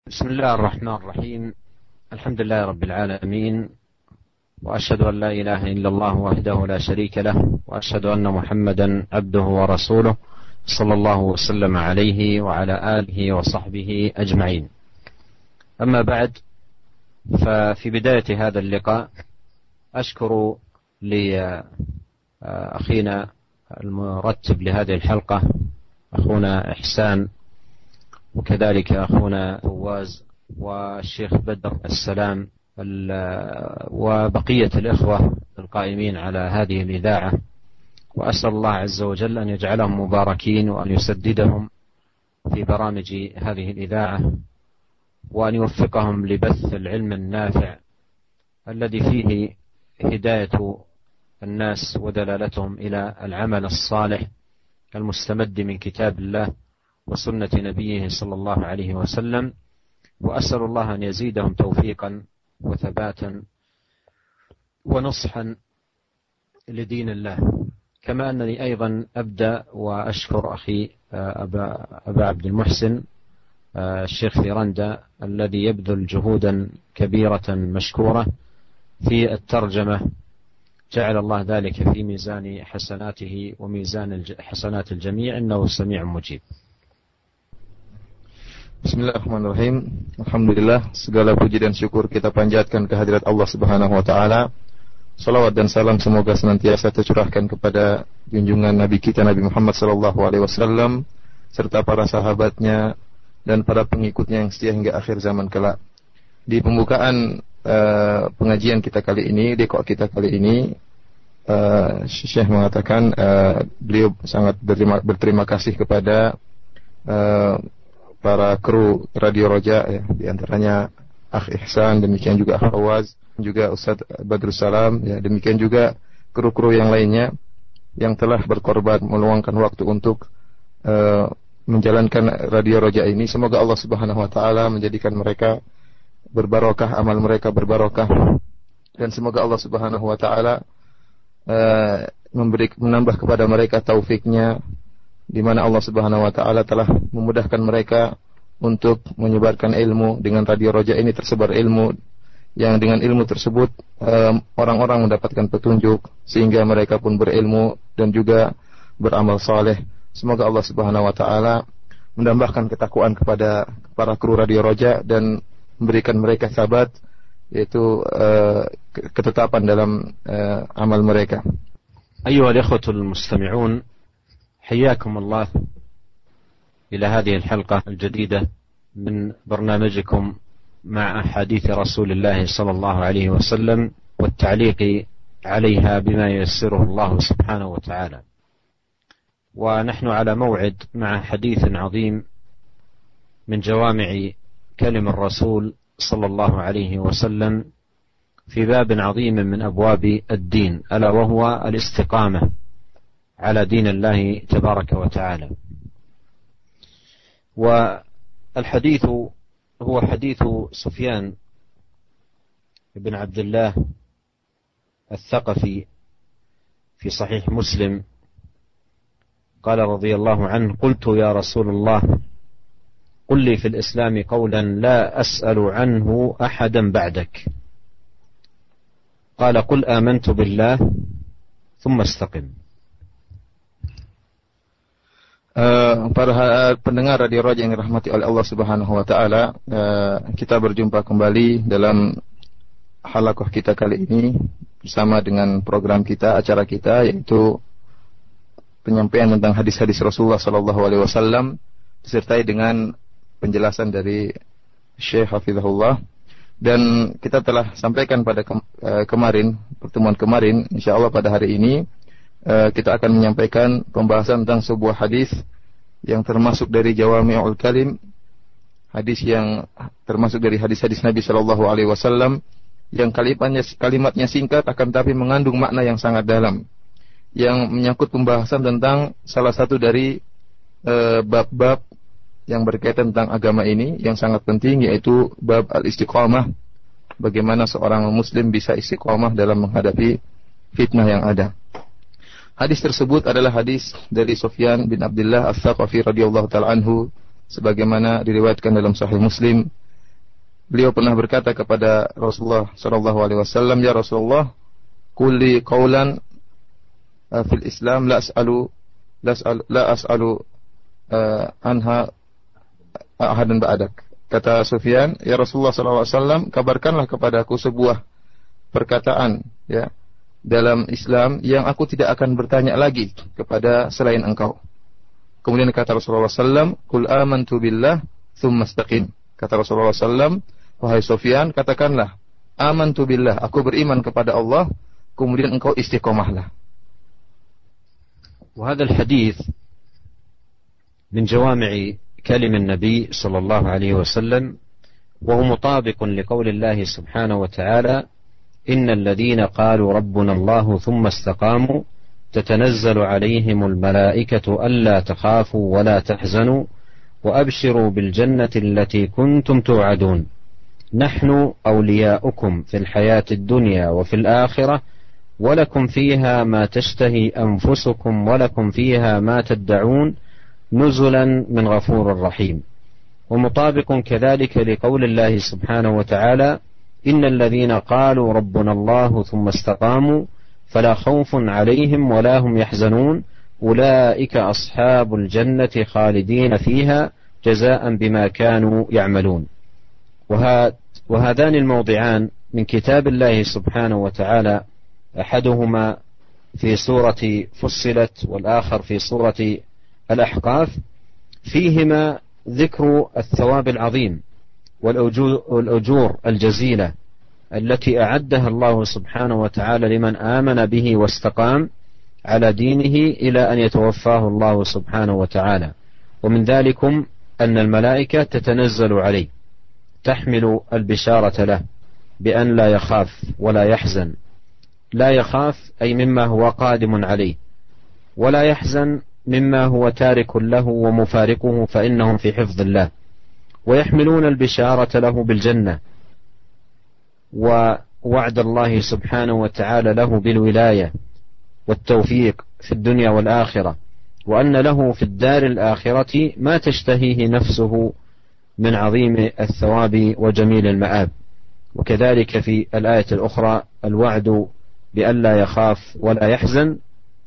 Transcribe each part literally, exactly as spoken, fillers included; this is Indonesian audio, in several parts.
بسم الله الرحمن الرحيم. الحمد لله رب العالمين، وأشهد أن لا إله إلا الله وحده لا شريك له، وأشهد أن محمدا عبده ورسوله صلى الله وسلم عليه وعلى آله وصحبه أجمعين. أما بعد، ففي بداية هذا اللقاء أشكر لأخينا المرتب لهذه الحلقة أخونا إحسان، وكذلك أخونا فواز والشيخ بدر السلام وبقية الإخوة القائمين على هذه الإذاعة، وأسأل الله عز وجل أن يجعلهم مباركين وأن يسددهم في برامج هذه الإذاعة، وأن يوفقهم لبث العلم النافع الذي فيه هداية الناس ودلالتهم إلى العمل الصالح المستمد من كتاب الله وسنة نبيه صلى الله عليه وسلم. وأسأل الله أن يزيدهم توفيقا وثباتا ونصحا لدين الله. كما أنني أيضا أبدأ وأشكر أخي أبا, أبا عبد المحسن الشيخ فيرندا الذي يبذل جهودا كبيرة مشكورة في الترجمة، جعل الله ذلك في ميزان حسناته وميزان حسنات الجميع، إنه سميع مجيب. Bismillahirrahmanirrahim. Alhamdulillah, segala puji dan syukur kita panjatkan kehadirat Allah Subhanahu wa taala. Salawat dan salam semoga senantiasa tercurahkan kepada junjungan Nabi kita Nabi Muhammad sallallahu alaihi wasallam serta para sahabatnya dan para pengikutnya yang setia hingga akhir zaman kelak. Di pembukaan uh, pengajian kita kali ini, dekok kita kali ini, uh, Syekh mengatakan uh, beliau sangat berterima, berterima kasih kepada uh, para kru Radio Roja, ya, di antaranya Akh Ihsan, demikian juga Akh Fawaz, juga Ustaz Badrus Salam, ya, demikian juga kru-kru yang lainnya yang telah berkorban meluangkan waktu untuk uh, menjalankan Radio Roja ini. Semoga Allah Subhanahu wa taala menjadikan mereka berbarokah, amal mereka berbarokah, dan semoga Allah Subhanahu wa taala uh, memberi menambah kepada mereka taufiknya, di mana Allah Subhanahu wa taala telah memudahkan mereka untuk menyebarkan ilmu. Dengan Radio Roja ini tersebar ilmu yang dengan ilmu tersebut um, orang-orang mendapatkan petunjuk sehingga mereka pun berilmu dan juga beramal saleh. Semoga Allah Subhanahu wa taala menambahkan ketakwaan kepada para kru Radio Roja dan memberikan mereka sabat, yaitu uh, ketetapan dalam uh, amal mereka. Ayyuhal ikhwatul mustami'un, حياكم الله إلى هذه الحلقة الجديدة من برنامجكم مع أحاديث رسول الله صلى الله عليه وسلم والتعليق عليها بما ييسره الله سبحانه وتعالى. ونحن على موعد مع حديث عظيم من جوامع كلم الرسول صلى الله عليه وسلم في باب عظيم من أبواب الدين، ألا وهو الاستقامة على دين الله تبارك وتعالى. والحديث هو حديث سفيان بن عبد الله الثقفي في صحيح مسلم، قال رضي الله عنه: قلت يا رسول الله قل لي في الإسلام قولا لا أسأل عنه أحدا بعدك، قال: قل آمنت بالله ثم استقم. Uh, para pendengar Radio Roja yang dirahmati oleh Allah Subhanahu wa taala, uh, kita berjumpa kembali dalam halaqah kita kali ini bersama dengan program kita, acara kita, yaitu penyampaian tentang hadis-hadis Rasulullah sallallahu alaihi wasallam disertai dengan penjelasan dari Syekh Hafizahullah. Dan kita telah sampaikan pada ke- uh, kemarin, pertemuan kemarin, insyaallah pada hari ini Uh, kita akan menyampaikan pembahasan tentang sebuah hadis yang termasuk dari Jawami'ul Kalim, hadis yang termasuk dari hadis-hadis Nabi Shallallahu Alaihi Wasallam yang kalimatnya, kalimatnya singkat akan tapi mengandung makna yang sangat dalam, yang menyangkut pembahasan tentang salah satu dari uh, bab-bab yang berkaitan tentang agama ini yang sangat penting, yaitu bab al-istiqamah, bagaimana seorang muslim bisa istiqamah dalam menghadapi fitnah yang ada. Hadis tersebut adalah hadis dari Sufyan bin Abdullah Ats-Tsaqafi radhiyallahu taala anhu, sebagaimana diriwayatkan dalam Sahih Muslim beliau pernah berkata kepada Rasulullah sallallahu alaihi wasallam, "Ya Rasulullah, qulli qawlan uh, fil Islam la as'alu la as'alu, la as'alu uh, anha ahadan ba'dak." Kata Sufyan, "Ya Rasulullah sallallahu alaihi wasallam, kabarkanlah kepadaku sebuah perkataan ya dalam Islam yang aku tidak akan bertanya lagi kepada selain engkau." Kemudian kata Rasulullah sallallahu alaihi wasallam, "Qul amantu billah tsumma istaqim." Kata Rasulullah sallallahu alaihi wasallam, "Wahai Sufyan, katakanlah, amantu billah, aku beriman kepada Allah, kemudian engkau istiqomahlah." وهذا الحديث من جوامع كلم النبي صلى الله عليه وسلم، وهو مطابق لقول الله سبحانه وتعالى: إن الذين قالوا ربنا الله ثم استقاموا تتنزل عليهم الملائكة ألا تخافوا ولا تحزنوا وأبشروا بالجنة التي كنتم توعدون نحن أولياؤكم في الحياة الدنيا وفي الآخرة ولكم فيها ما تشتهي أنفسكم ولكم فيها ما تدعون نزلا من غفور رحيم. ومطابق كذلك لقول الله سبحانه وتعالى: إن الذين قالوا ربنا الله ثم استقاموا فلا خوف عليهم ولا هم يحزنون أولئك أصحاب الجنة خالدين فيها جزاء بما كانوا يعملون. وهذان الموضعان من كتاب الله سبحانه وتعالى، أحدهما في سورة فصلت والآخر في سورة الأحقاف، فيهما ذكر الثواب العظيم والأجور الجزيلة التي أعدها الله سبحانه وتعالى لمن آمن به واستقام على دينه إلى أن يتوفاه الله سبحانه وتعالى. ومن ذلكم أن الملائكة تتنزل عليه تحمل البشارة له بأن لا يخاف ولا يحزن. لا يخاف أي مما هو قادم عليه، ولا يحزن مما هو تارك له ومفارقه، فإنهم في حفظ الله. ويحملون البشارة له بالجنة ووعد الله سبحانه وتعالى له بالولاية والتوفيق في الدنيا والآخرة، وأن له في الدار الآخرة ما تشتهيه نفسه من عظيم الثواب وجميل المآب. وكذلك في الآية الأخرى الوعد بأن لا يخاف ولا يحزن،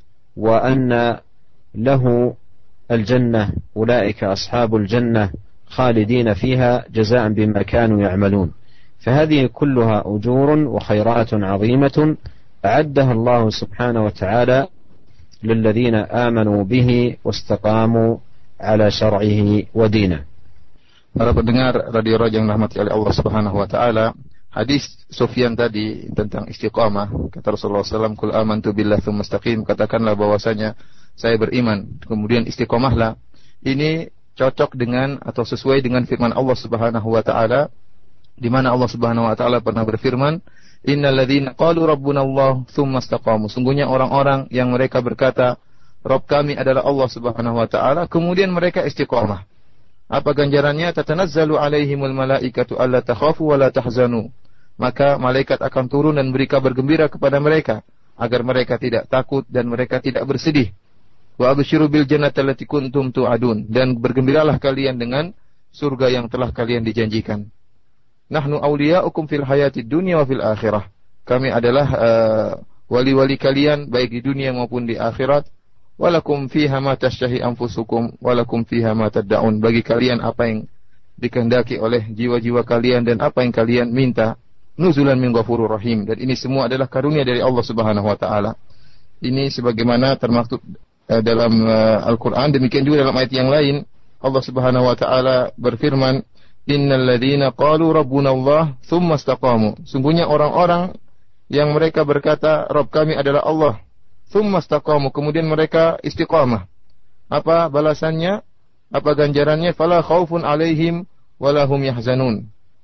وأن له الجنة أولئك أصحاب الجنة خالدين فيها جزاء بما كانوا يعملون. فهذه كلها أجور وخيرات عظيمة أعدها الله سبحانه وتعالى للذين آمنوا به واستقاموا على شرعه ودينه. Para pendengar Radio Raja yang dirahmati oleh Allah Subhanahu wa taala, hadis Sufyan tadi tentang istiqamah, kata Rasulullah sallallahu alaihi wasallam, "Qul amantu billahi tsumma istaqim," katakanlah bahwasanya saya beriman kemudian istiqomahlah. Ini cocok dengan atau sesuai dengan firman Allah Subhanahu wa taala, di mana Allah Subhanahu wa taala pernah berfirman, "Innal ladzina qalu rabbuna Allah tsumma istaqamu." Sungguhnya orang-orang yang mereka berkata, "Rabb kami adalah Allah Subhanahu wa taala," kemudian mereka istiqamah. Apa ganjarannya? Tatanazzalu alaihimul malaikatu alla takhafu wa la tahzanu. Maka malaikat akan turun dan beri kabar gembira kepada mereka agar mereka tidak takut dan mereka tidak bersedih. Wa absyiru bil jannati allati kuntum tu'adun, dan bergembiralah kalian dengan surga yang telah kalian dijanjikan. Nahnu awliya'ukum fil hayatid dunya wa fil akhirah. Kami adalah uh, wali-wali kalian baik di dunia maupun di akhirat. Walakum fiha ma tashtahi anfusukum walakum fiha ma tad'un. Bagi kalian apa yang dikehendaki oleh jiwa-jiwa kalian dan apa yang kalian minta. Nuzulan min ghafurur rahim. Dan ini semua adalah karunia dari Allah Subhanahu wa taala. Ini sebagaimana termaktub uh, dalam uh, Al-Qur'an, demikian juga dalam ayat yang lain Allah Subhanahu wa taala berfirman, "Innal ladzina qalu rabbuna Allah tsumma istaqamu." Sungguhnya orang-orang yang mereka berkata Rabb kami adalah Allah, tsumma istaqamu, kemudian mereka istiqamah. Apa balasannya? Apa ganjarannya? Fala khaufun alaihim wala hum yahzanun.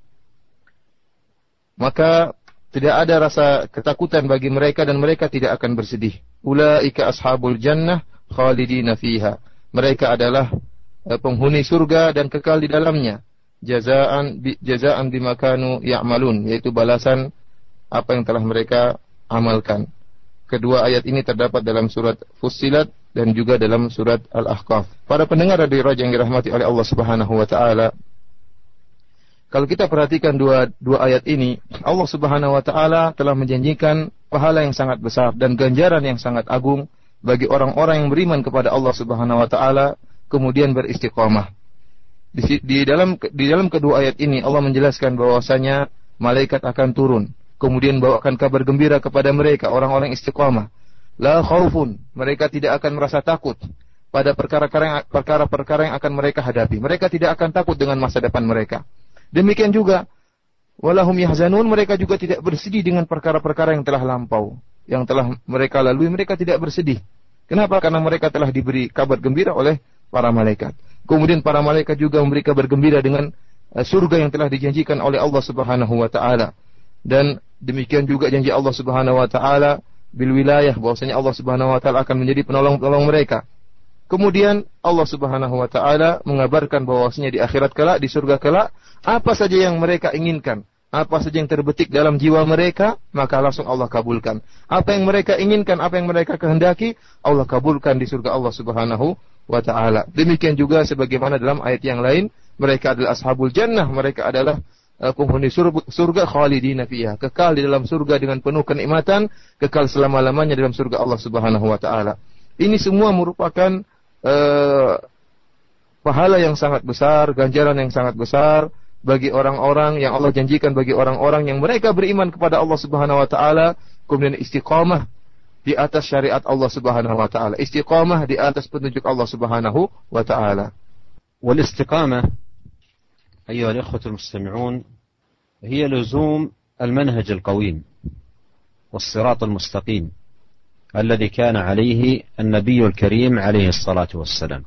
Maka tidak ada rasa ketakutan bagi mereka dan mereka tidak akan bersedih. Ulaika ashabul jannah khalidina fiha. Mereka adalah penghuni surga dan kekal di dalamnya. Jazaan bi, jazaan bima kanu ya'malun, yaitu balasan apa yang telah mereka amalkan. Kedua ayat ini terdapat dalam surat Fussilat dan juga dalam surat Al-Ahqaf. Para pendengar Radio Raja yang dirahmati oleh Allah Subhanahu wa taala, Kalau kita perhatikan dua dua ayat ini, Allah Subhanahu wa taala telah menjanjikan pahala yang sangat besar dan ganjaran yang sangat agung bagi orang-orang yang beriman kepada Allah Subhanahu wa taala kemudian beristiqamah. Di, di dalam di dalam kedua ayat ini Allah menjelaskan bahwasanya malaikat akan turun, kemudian bawakan kabar gembira kepada mereka orang-orang istiqamah. La khaufun, mereka tidak akan merasa takut pada perkara-perkara perkara-perkara yang akan mereka hadapi. Mereka tidak akan takut dengan masa depan mereka. Demikian juga walahum yahzanun, mereka juga tidak bersedih dengan perkara-perkara yang telah lampau, yang telah mereka lalui, mereka tidak bersedih. Kenapa? Karena mereka telah diberi kabar gembira oleh para malaikat. Kemudian para malaikat juga memberi kabar gembira dengan uh, surga yang telah dijanjikan oleh Allah Subhanahu wa taala. Dan demikian juga janji Allah Subhanahu wa taala bil wilayah, bahwasanya Allah Subhanahu wa taala akan menjadi penolong-penolong mereka. Kemudian Allah Subhanahu wa taala mengabarkan bahwasanya di akhirat kelak, di surga kelak, apa saja yang mereka inginkan, apa saja yang terbetik dalam jiwa mereka, maka langsung Allah kabulkan. Apa yang mereka inginkan, apa yang mereka kehendaki, Allah kabulkan di surga Allah Subhanahu wa taala. Demikian juga sebagaimana dalam ayat yang lain, mereka adalah ashabul jannah, mereka adalah uh, penghuni surga, surga khalidina fiha, kekal di dalam surga dengan penuh kenikmatan, kekal selama-lamanya dalam surga Allah Subhanahu wa taala. Ini semua merupakan Uh, pahala yang sangat besar, ganjaran yang sangat besar bagi orang-orang yang Allah janjikan bagi orang-orang yang mereka beriman kepada Allah Subhanahu wa taala, kemudian istiqamah di atas syariat Allah Subhanahu wa taala, istiqamah di atas petunjuk Allah Subhanahu wa taala. Wal istiqamah أيها الإخوة المستمعون هي لزوم المنهج القويم والصراط المستقيم الذي كان عليه النبي الكريم عليه الصلاة والسلام.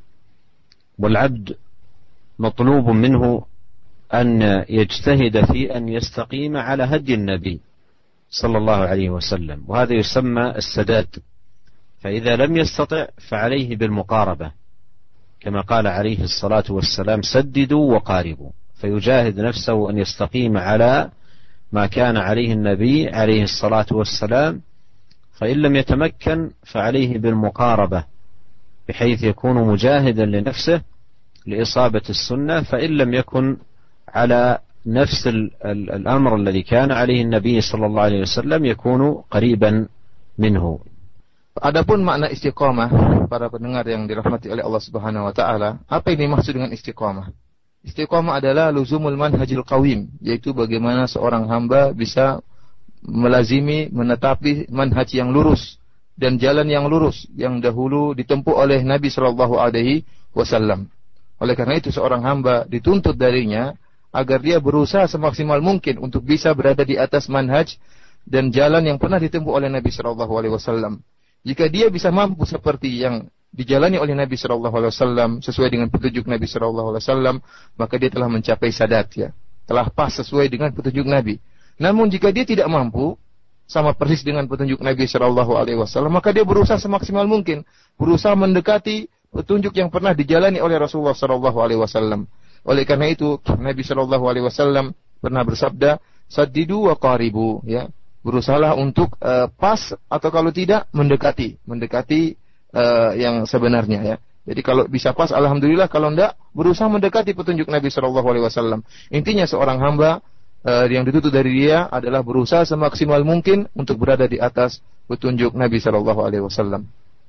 والعبد مطلوب منه أن يجتهد في أن يستقيم على هدي النبي صلى الله عليه وسلم، وهذا يسمى السداد. فإذا لم يستطع فعليه بالمقاربة كما قال عليه الصلاة والسلام سددوا وقاربوا، فيجاهد نفسه أن يستقيم على ما كان عليه النبي عليه الصلاة والسلام، فإن لم يتمكن فعليه بالمقاربة بحيث يكون مجاهدا لنفسه لإصابة السنة، فإن لم يكن على نفس الأمر الذي كان عليه النبي صلى الله عليه وسلم يكون قريبا منه. Adapun makna istiqamah, para pendengar yang dirahmati oleh Allah Subhanahu wa taala, apa yang dimaksud dengan istiqamah? Istiqamah adalah luzumul manhajil qawim, yaitu bagaimana seorang hamba bisa melazimi, menetapi manhaj yang lurus dan jalan yang lurus yang dahulu ditempuh oleh Nabi Shallallahu Alaihi Wasallam. Oleh karena itu seorang hamba dituntut darinya agar dia berusaha semaksimal mungkin untuk bisa berada di atas manhaj dan jalan yang pernah ditempuh oleh Nabi Shallallahu Alaihi Wasallam. Jika dia bisa mampu seperti yang dijalani oleh Nabi Shallallahu Alaihi Wasallam sesuai dengan petunjuk Nabi Shallallahu Alaihi Wasallam, maka dia telah mencapai sadat, ya, telah pas sesuai dengan petunjuk Nabi. Namun jika dia tidak mampu sama persis dengan petunjuk Nabi Shallallahu Alaihi Wasallam, maka dia berusaha semaksimal mungkin, berusaha mendekati petunjuk yang pernah dijalani oleh Rasulullah Shallallahu Alaihi Wasallam. Oleh karena itu Nabi Shallallahu Alaihi Wasallam pernah bersabda, "Saddidu wa qaribu," ya, berusahalah untuk uh, pas atau kalau tidak mendekati, mendekati uh, yang sebenarnya, ya. Jadi kalau bisa pas, alhamdulillah. Kalau tidak, berusaha mendekati petunjuk Nabi Shallallahu Alaihi Wasallam. Intinya seorang hamba Uh, yang dituntut dari dia adalah berusaha semaksimal mungkin untuk berada di atas petunjuk Nabi sallallahu alaihi wasallam.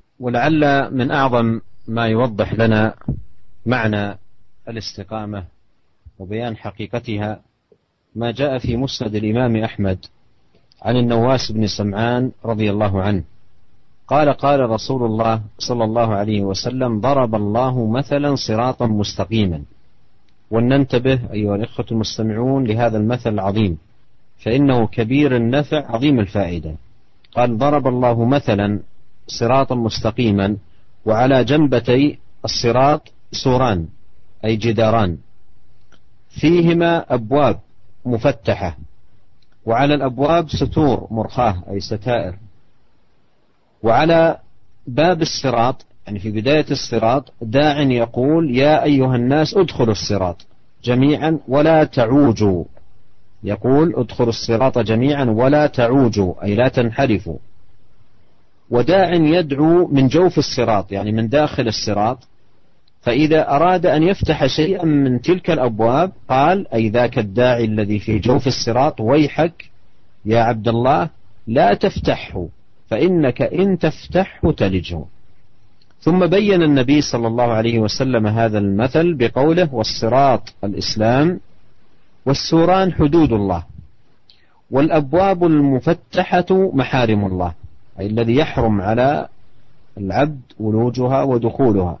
ولعل من أعظم ما يوضح لنا معنى الاستقامة وبيان حقيقتها ما جاء في مسند الإمام أحمد عن النواس بن سمعان رضي الله عنه قال قال رسول الله صلى الله عليه وسلم ضرب الله مثلا صراطا مستقيما. ولننتبه أيها الإخوة المستمعون لهذا المثل العظيم، فإنه كبير النفع عظيم الفائدة. قال ضرب الله مثلا صراطا مستقيما وعلى جنبتي الصراط سوران أي جداران فيهما أبواب مفتحة، وعلى الأبواب ستور مرخاة أي ستائر، وعلى باب الصراط يعني في بداية الصراط داع يقول يا أيها الناس ادخلوا الصراط جميعا ولا تعوجوا، يقول ادخلوا الصراط جميعا ولا تعوجوا أي لا تنحرفوا. وداع يدعو من جوف الصراط يعني من داخل الصراط فإذا أراد أن يفتح شيئا من تلك الأبواب قال أي ذاك الداعي الذي في جوف الصراط ويحك يا عبد الله لا تفتحه فإنك إن تفتحه تلجه. ثم بين النبي صلى الله عليه وسلم هذا المثل بقوله والصراط الإسلام والسوران حدود الله والأبواب المفتحة محارم الله، أي الذي يحرم على العبد ولوجها ودخولها.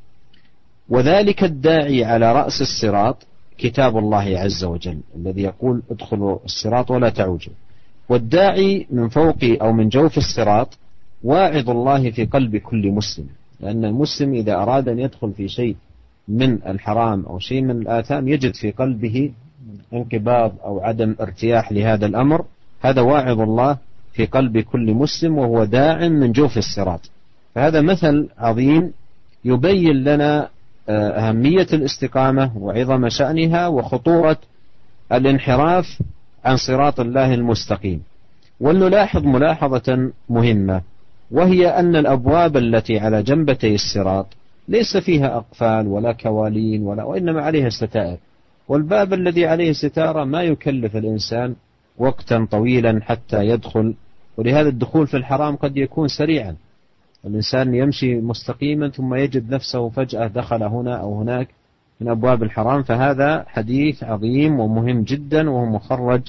وذلك الداعي على رأس الصراط كتاب الله عز وجل الذي يقول ادخلوا الصراط ولا تعوجوا، والداعي من فوق أو من جوف الصراط واعظ الله في قلب كل مسلم، لأن المسلم إذا أراد أن يدخل في شيء من الحرام أو شيء من الآثام يجد في قلبه انقباض أو عدم ارتياح لهذا الأمر، هذا واعظ الله في قلب كل مسلم وهو داع من جوف الصراط. فهذا مثل عظيم يبين لنا أهمية الاستقامة وعظم شأنها وخطورة الانحراف عن صراط الله المستقيم. ولنلاحظ ملاحظة مهمة، وهي أن الأبواب التي على جنبتي الصراط ليس فيها أقفال ولا كوالين ولا وإنما عليها ستائر، والباب الذي عليه ستارة ما يكلف الإنسان وقتا طويلا حتى يدخل، ولهذا الدخول في الحرام قد يكون سريعا، الإنسان يمشي مستقيما ثم يجد نفسه فجأة دخل هنا أو هناك من أبواب الحرام. فهذا حديث عظيم ومهم جدا وهو مخرج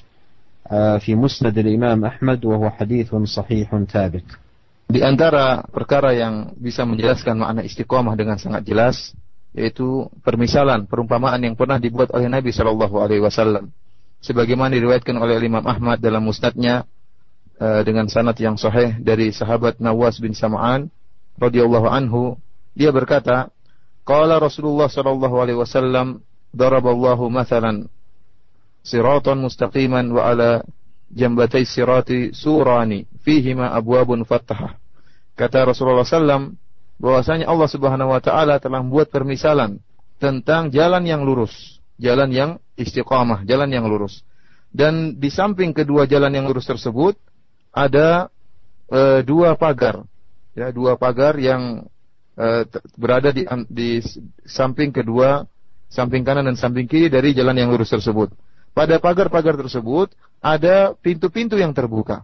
في مسند الإمام أحمد وهو حديث صحيح ثابت. Di antara perkara yang bisa menjelaskan makna istiqomah dengan sangat jelas yaitu permisalan, perumpamaan yang pernah dibuat oleh Nabi shallallahu alaihi wasallam sebagaimana diriwayatkan oleh Imam Ahmad dalam musnadnya uh, dengan sanad yang sahih dari sahabat Nawas bin Sam'an radhiyallahu anhu. Dia berkata, qala Rasulullah shallallahu alaihi wasallam daraballahu mathalan siratan mustaqiman wa ala jambatay sirati surani fihima abwabun fattahah. Kata Rasulullah shallallahu alaihi wasallam bahwasanya Allah Subhanahu wa taala telah membuat permisalan tentang jalan yang lurus, jalan yang istiqamah, jalan yang lurus. Dan di samping kedua jalan yang lurus tersebut ada e, dua pagar, ya, dua pagar yang e, berada di, di samping kedua, samping kanan dan samping kiri dari jalan yang lurus tersebut. Pada pagar-pagar tersebut ada pintu-pintu yang terbuka.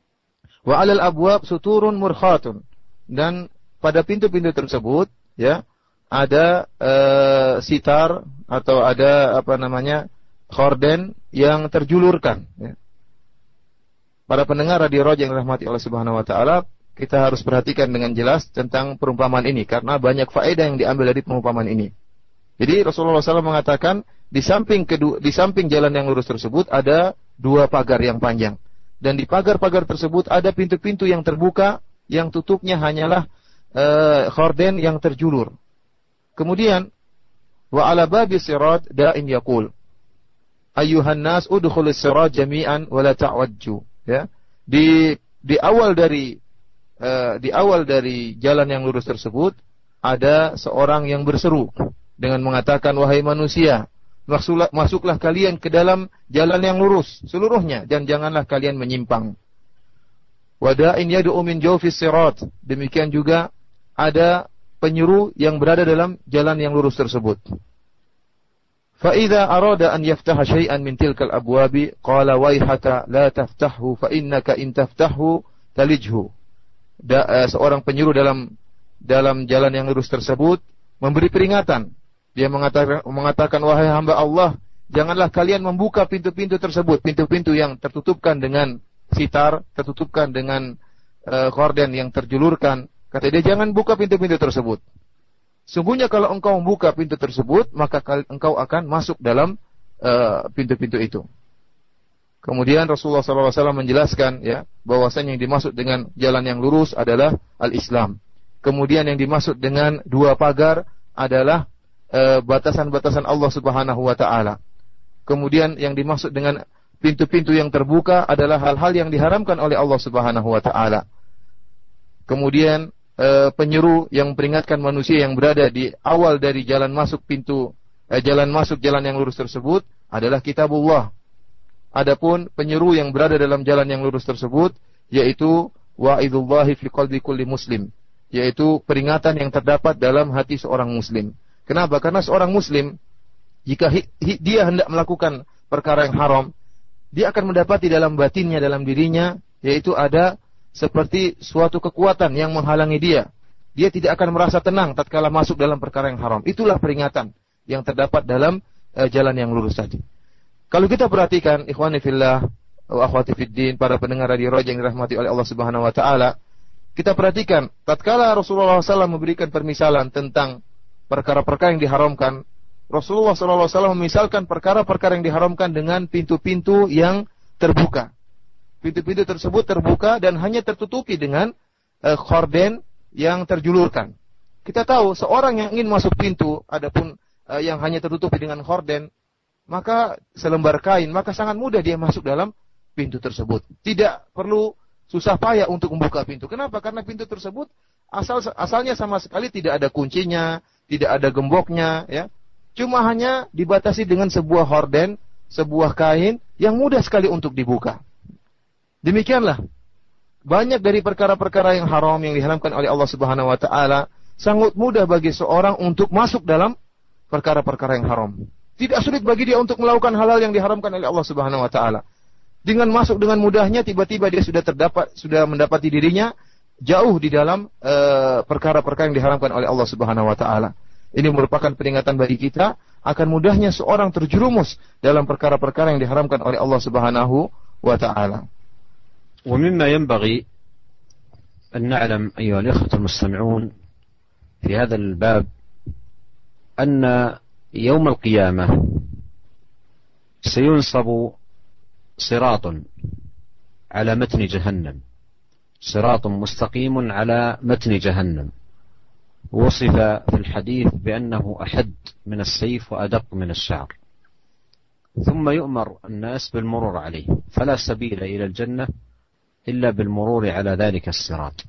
Wa 'alal abwab suturun murkhatun, dan pada pintu-pintu tersebut ya ada uh, sitar atau ada apa namanya khorden yang terjulurkan ya. Para pendengar radio Roja yang dirahmati Allah Subhanahu wa taala, kita harus perhatikan dengan jelas tentang perumpamaan ini karena banyak faedah yang diambil dari perumpamaan ini. Jadi Rasulullah shallallahu alaihi wasallam mengatakan di samping kedua, di samping jalan yang lurus tersebut ada dua pagar yang panjang, dan di pagar-pagar tersebut ada pintu-pintu yang terbuka yang tutupnya hanyalah Uh, khorden yang terjulur. Kemudian wa ala babi sirat da'in yaqul ayyuhan nas udkhulus sirat jami'an wa la ta'wajju, ya. Di di awal dari uh, di awal dari jalan yang lurus tersebut ada seorang yang berseru dengan mengatakan, wahai manusia, masuklah, masuklah kalian ke dalam jalan yang lurus seluruhnya dan janganlah kalian menyimpang. Wada'in yad'u min jawfis sirat, demikian juga ada penyeru yang berada dalam jalan yang lurus tersebut. Fa idza arada an yaftaha syai'an min tilkal abwabi qala waihaka la taftahhu fa innaka in taftahhu talijhu. Da, uh, seorang penyeru dalam dalam jalan yang lurus tersebut memberi peringatan. Dia mengatakan mengatakan wahai hamba Allah, janganlah kalian membuka pintu-pintu tersebut, pintu-pintu yang tertutupkan dengan sitar, tertutupkan dengan uh, khorden yang terjulurkan. Kata dia, jangan buka pintu-pintu tersebut. Sungguhnya kalau engkau membuka pintu tersebut, maka engkau akan masuk dalam uh, pintu-pintu itu. Kemudian Rasulullah shallallahu alaihi wasallam menjelaskan ya bahwasanya yang dimaksud dengan jalan yang lurus adalah al-Islam. Kemudian yang dimaksud dengan dua pagar adalah uh, batasan-batasan Allah Subhanahu wa taala. Kemudian yang dimaksud dengan pintu-pintu yang terbuka adalah hal-hal yang diharamkan oleh Allah Subhanahu wa taala. Kemudian e, penyeru yang memperingatkan manusia yang berada di awal dari jalan masuk pintu e, jalan masuk jalan yang lurus tersebut adalah kitabullah. Adapun penyeru yang berada dalam jalan yang lurus tersebut yaitu wa'idullahi fi qalbi kulli muslim, yaitu peringatan yang terdapat dalam hati seorang muslim. Kenapa? Karena seorang muslim jika hi, hi, dia hendak melakukan perkara yang haram, dia akan mendapati dalam batinnya, dalam dirinya, yaitu ada seperti suatu kekuatan yang menghalangi dia. Dia tidak akan merasa tenang tatkala masuk dalam perkara yang haram. Itulah peringatan yang terdapat dalam uh, jalan yang lurus tadi. Kalau kita perhatikan, ikhwani fillah wa akhwati fiddin, para pendengar radio Raja yang dirahmati oleh Allah Subhanahu wa taala, kita perhatikan tatkala Rasulullah shallallahu alaihi wasallam memberikan permisalan tentang perkara-perkara yang diharamkan, Rasulullah shallallahu alaihi wasallam memisalkan perkara-perkara yang diharamkan dengan pintu-pintu yang terbuka. Pintu-pintu tersebut terbuka dan hanya tertutupi dengan uh, khorden yang terjulurkan. Kita tahu seorang yang ingin masuk pintu, adapun uh, yang hanya tertutupi dengan khorden, maka selembar kain, maka sangat mudah dia masuk dalam pintu tersebut. Tidak perlu susah payah untuk membuka pintu. Kenapa? Karena pintu tersebut asal asalnya sama sekali tidak ada kuncinya, tidak ada gemboknya, ya. Cuma hanya dibatasi dengan sebuah horden, sebuah kain yang mudah sekali untuk dibuka. Demikianlah banyak dari perkara-perkara yang haram yang diharamkan oleh Allah Subhanahu wa taala sangat mudah bagi seorang untuk masuk dalam perkara-perkara yang haram. Tidak sulit bagi dia untuk melakukan hal-hal yang diharamkan oleh Allah Subhanahu wa taala. Dengan masuk dengan mudahnya, tiba-tiba dia sudah terdapat sudah mendapati dirinya jauh di dalam uh, perkara-perkara yang diharamkan oleh Allah Subhanahu wa taala. Ini merupakan peringatan bagi kita akan mudahnya seorang terjerumus dalam perkara-perkara yang diharamkan oleh Allah Subhanahu wa taala. ومما ينبغي أن نعلم أيها الإخوة المستمعون في هذا الباب أن يوم القيامة سينصب صراط على متن جهنم، صراط مستقيم على متن جهنم، وصف في الحديث بأنه أحد من السيف وأدق من الشعر، ثم يؤمر الناس بالمرور عليه، فلا سبيل إلى الجنة إلا بالمرور على ذلك الصراط.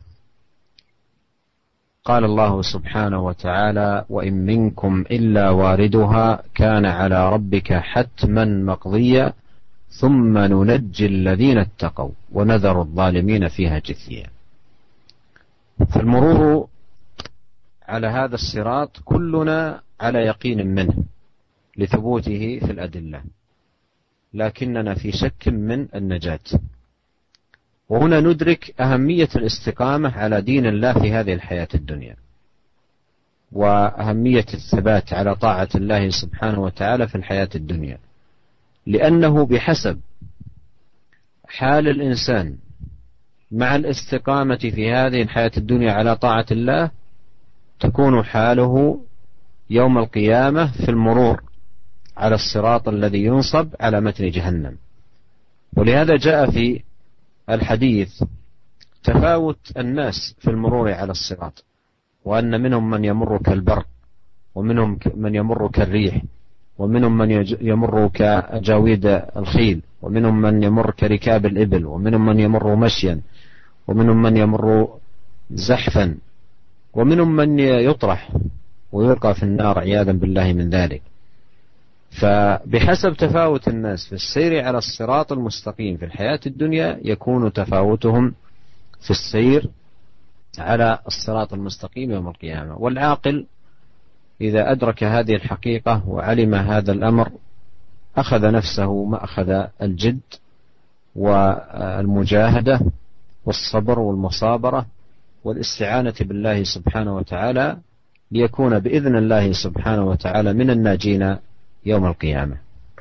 قال الله سبحانه وتعالى: وإن منكم إلا واردها كان على ربك حتما مقضيا ثم ننجي الذين اتقوا ونذر الظالمين فيها جثيا. فالمرور على هذا الصراط كلنا على يقين منه لثبوته في الأدلة، لكننا في شك من النجاة. وهنا ندرك أهمية الاستقامة على دين الله في هذه الحياة الدنيا، وأهمية الثبات على طاعة الله سبحانه وتعالى في الحياة الدنيا، لأنه بحسب حال الإنسان مع الاستقامة في هذه الحياة الدنيا على طاعة الله تكون حاله يوم القيامة في المرور على الصراط الذي ينصب على متن جهنم. ولهذا جاء في الحديث تفاوت الناس في المرور على الصراط، وأن منهم من يمر كالبرق، ومنهم من يمر كالريح، ومنهم من يمر كأجاويد الخيل، ومنهم من يمر كركاب الإبل، ومنهم من يمر مشيا، ومنهم من يمر زحفا، ومنهم من يطرح ويلقى في النار عياذا بالله من ذلك. فبحسب تفاوت الناس في السير على الصراط المستقيم في الحياة الدنيا يكون تفاوتهم في السير على الصراط المستقيم يوم القيامة. والعاقل إذا أدرك هذه الحقيقة وعلم هذا الأمر أخذ نفسه مأخذ الجد والمجاهدة والصبر والمصابرة والاستعانة بالله سبحانه وتعالى ليكون بإذن الله سبحانه وتعالى من الناجين يوم القيامة.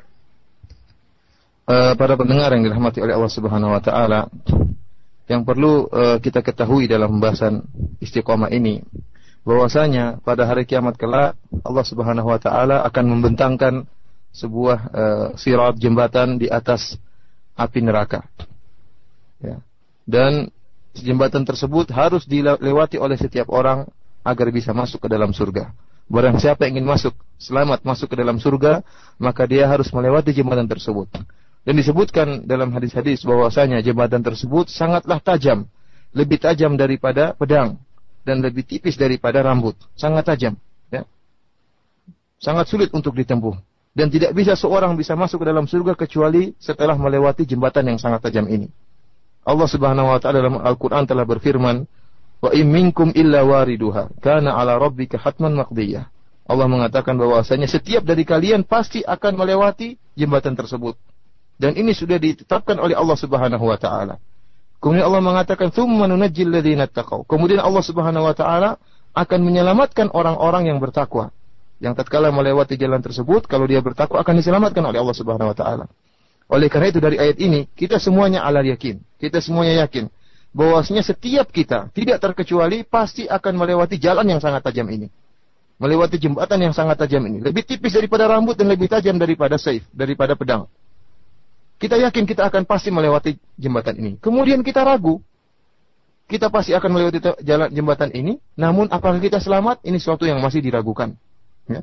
Uh, para pendengar yang dirahmati oleh Allah Subhanahu wa taala, yang perlu uh, kita ketahui dalam pembahasan istiqomah ini, bahwasanya pada hari kiamat kelak Allah Subhanahu wa taala akan membentangkan sebuah uh, sirat, jembatan di atas api neraka. Ya. Dan jembatan tersebut harus dilewati oleh setiap orang agar bisa masuk ke dalam surga. Barang siapa yang ingin masuk, selamat masuk ke dalam surga, maka dia harus melewati jembatan tersebut. Dan disebutkan dalam hadis-hadis bahwasanya jembatan tersebut sangatlah tajam, lebih tajam daripada pedang dan lebih tipis daripada rambut, sangat tajam, ya. Sangat sulit untuk ditempuh dan tidak bisa seorang bisa masuk ke dalam surga kecuali setelah melewati jembatan yang sangat tajam ini. Allah Subhanahu wa taala dalam Al-Qur'an telah berfirman, "Wa in minkum illa wariduha kana 'ala rabbika hatman maqdiyah." Allah mengatakan bahwasanya setiap dari kalian pasti akan melewati jembatan tersebut. Dan ini sudah ditetapkan oleh Allah Subhanahu wa taala. Kemudian Allah mengatakan, "Tsumma nunajjil ladzina taqaw." Kemudian Allah Subhanahu wa taala akan menyelamatkan orang-orang yang bertakwa. Yang tatkala melewati jalan tersebut, kalau dia bertakwa akan diselamatkan oleh Allah Subhanahu wa taala. Oleh karena itu dari ayat ini, kita semuanya ala yakin. Kita semuanya yakin bahwasanya setiap kita tidak terkecuali pasti akan melewati jalan yang sangat tajam ini. Melewati jembatan yang sangat tajam ini. Lebih tipis daripada rambut dan lebih tajam daripada saif, daripada pedang. Kita yakin kita akan pasti melewati jembatan ini. Kemudian kita ragu. Kita pasti akan melewati jalan jembatan ini. Namun apakah kita selamat? Ini sesuatu yang masih diragukan. Ya.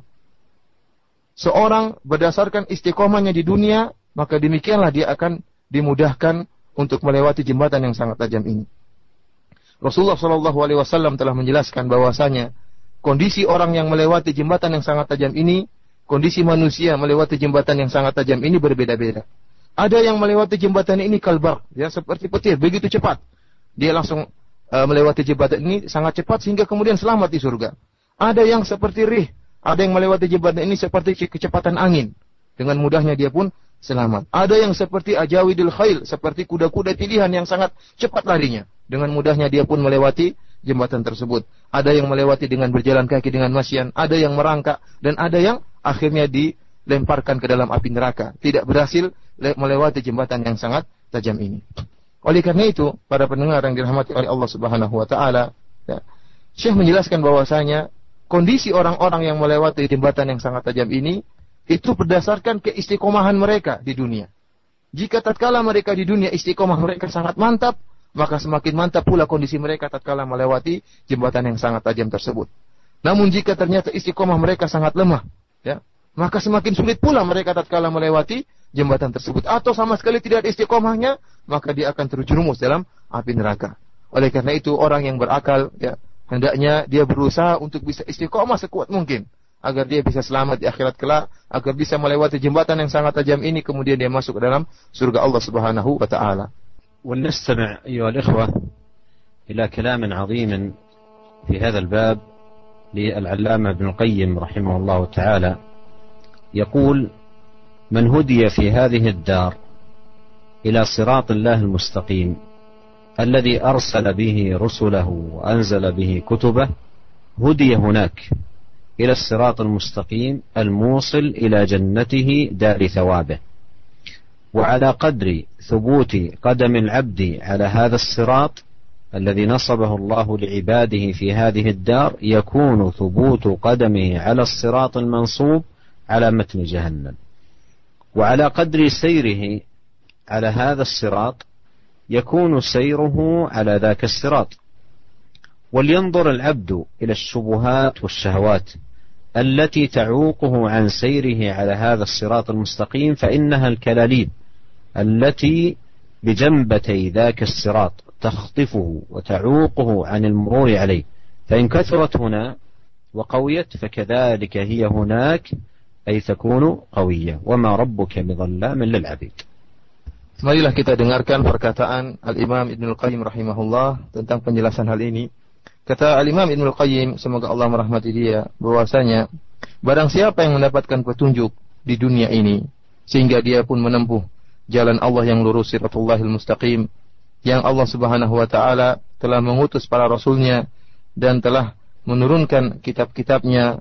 Seorang berdasarkan istiqomahnya di dunia, maka demikianlah dia akan dimudahkan untuk melewati jembatan yang sangat tajam ini. Rasulullah shallallahu alaihi wasallam telah menjelaskan bahwasanya kondisi orang yang melewati jembatan yang sangat tajam ini, kondisi manusia melewati jembatan yang sangat tajam ini berbeda-beda. Ada yang melewati jembatan ini kalbar, ya seperti petir, begitu cepat. Dia langsung uh, melewati jembatan ini sangat cepat sehingga kemudian selamat di surga. Ada yang seperti rih, ada yang melewati jembatan ini seperti kecepatan angin. Dengan mudahnya dia pun selamat. Ada yang seperti ajawidul khail, seperti kuda-kuda pilihan yang sangat cepat larinya. Dengan mudahnya dia pun melewati jembatan tersebut. Ada yang melewati dengan berjalan kaki dengan masyan, ada yang merangkak, dan ada yang akhirnya dilemparkan ke dalam api neraka. Tidak berhasil melewati jembatan yang sangat tajam ini. Oleh karena itu, para pendengar yang dirahmati oleh Allah Subhanahu wa taala, ya, Syekh menjelaskan bahwasanya kondisi orang-orang yang melewati jembatan yang sangat tajam ini itu berdasarkan keistiqomahan mereka di dunia. Jika tatkala mereka di dunia istiqomah mereka sangat mantap, maka semakin mantap pula kondisi mereka tatkala melewati jembatan yang sangat tajam tersebut. Namun jika ternyata istiqomah mereka sangat lemah, ya, maka semakin sulit pula mereka tatkala melewati jembatan tersebut. Atau sama sekali tidak ada istiqomahnya, maka dia akan terjerumus dalam api neraka. Oleh karena itu orang yang berakal, ya, hendaknya dia berusaha untuk bisa istiqomah sekuat mungkin, agar dia bisa selamat di akhirat kelak, agar bisa melewati jembatan yang sangat tajam ini, kemudian dia masuk ke dalam surga Allah Subhanahu wa taala. ولنستمع أيها الإخوة إلى كلام عظيم في هذا الباب للعلامة ابن القيم رحمه الله تعالى، يقول: من هدي في هذه الدار إلى صراط الله المستقيم الذي أرسل به رسله وأنزل به كتبه، هدي هناك إلى الصراط المستقيم الموصل إلى جنته دار ثوابه. وعلى قدر ثبوت قدم العبد على هذا الصراط الذي نصبه الله لعباده في هذه الدار، يكون ثبوت قدمه على الصراط المنصوب على متن جهنم. وعلى قدر سيره على هذا الصراط يكون سيره على ذاك الصراط. ولينظر العبد إلى الشبهات والشهوات التي تعوقه عن سيره على هذا الصراط المستقيم، فإنها الكلاليب التي بجنبتي ذاك الصراط تخطفه وتعوقه عن المرور عليه، فإن كثرت هنا وقويت فكذلك هي هناك، أي تكون قوية، وما ربك بظلام للعبيد. Marilah kita dengarkan perkataan Al-Imam Ibnul Qayyim rahimahullah tentang penjelasan hal ini. Kata Al-Imam Ibnul Qayyim, semoga Allah merahmati dia, bahwasanya barang siapa yang mendapatkan petunjuk di dunia ini sehingga dia pun menempuh jalan Allah yang lurus, Siratullahil Mustaqim, yang Allah Subhanahu wa taala telah mengutus para rasulnya dan telah menurunkan kitab-kitabnya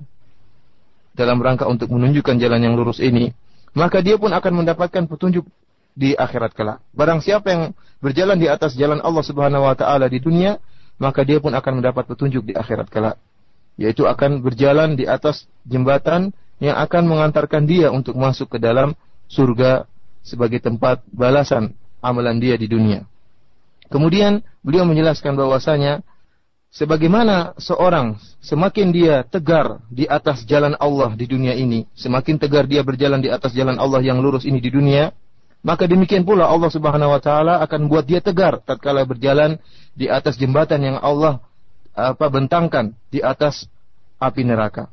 dalam rangka untuk menunjukkan jalan yang lurus ini, maka dia pun akan mendapatkan petunjuk di akhirat kelak. Barang siapa yang berjalan di atas jalan Allah Subhanahu wa taala di dunia, maka dia pun akan mendapat petunjuk di akhirat kelak, yaitu akan berjalan di atas jembatan yang akan mengantarkan dia untuk masuk ke dalam surga sebagai tempat balasan amalan dia di dunia. Kemudian beliau menjelaskan bahwasanya sebagaimana seorang semakin dia tegar di atas jalan Allah di dunia ini, semakin tegar dia berjalan di atas jalan Allah yang lurus ini di dunia, maka demikian pula Allah Subhanahu wa taala akan buat dia tegar tatkala berjalan di atas jembatan yang Allah apa bentangkan di atas api neraka.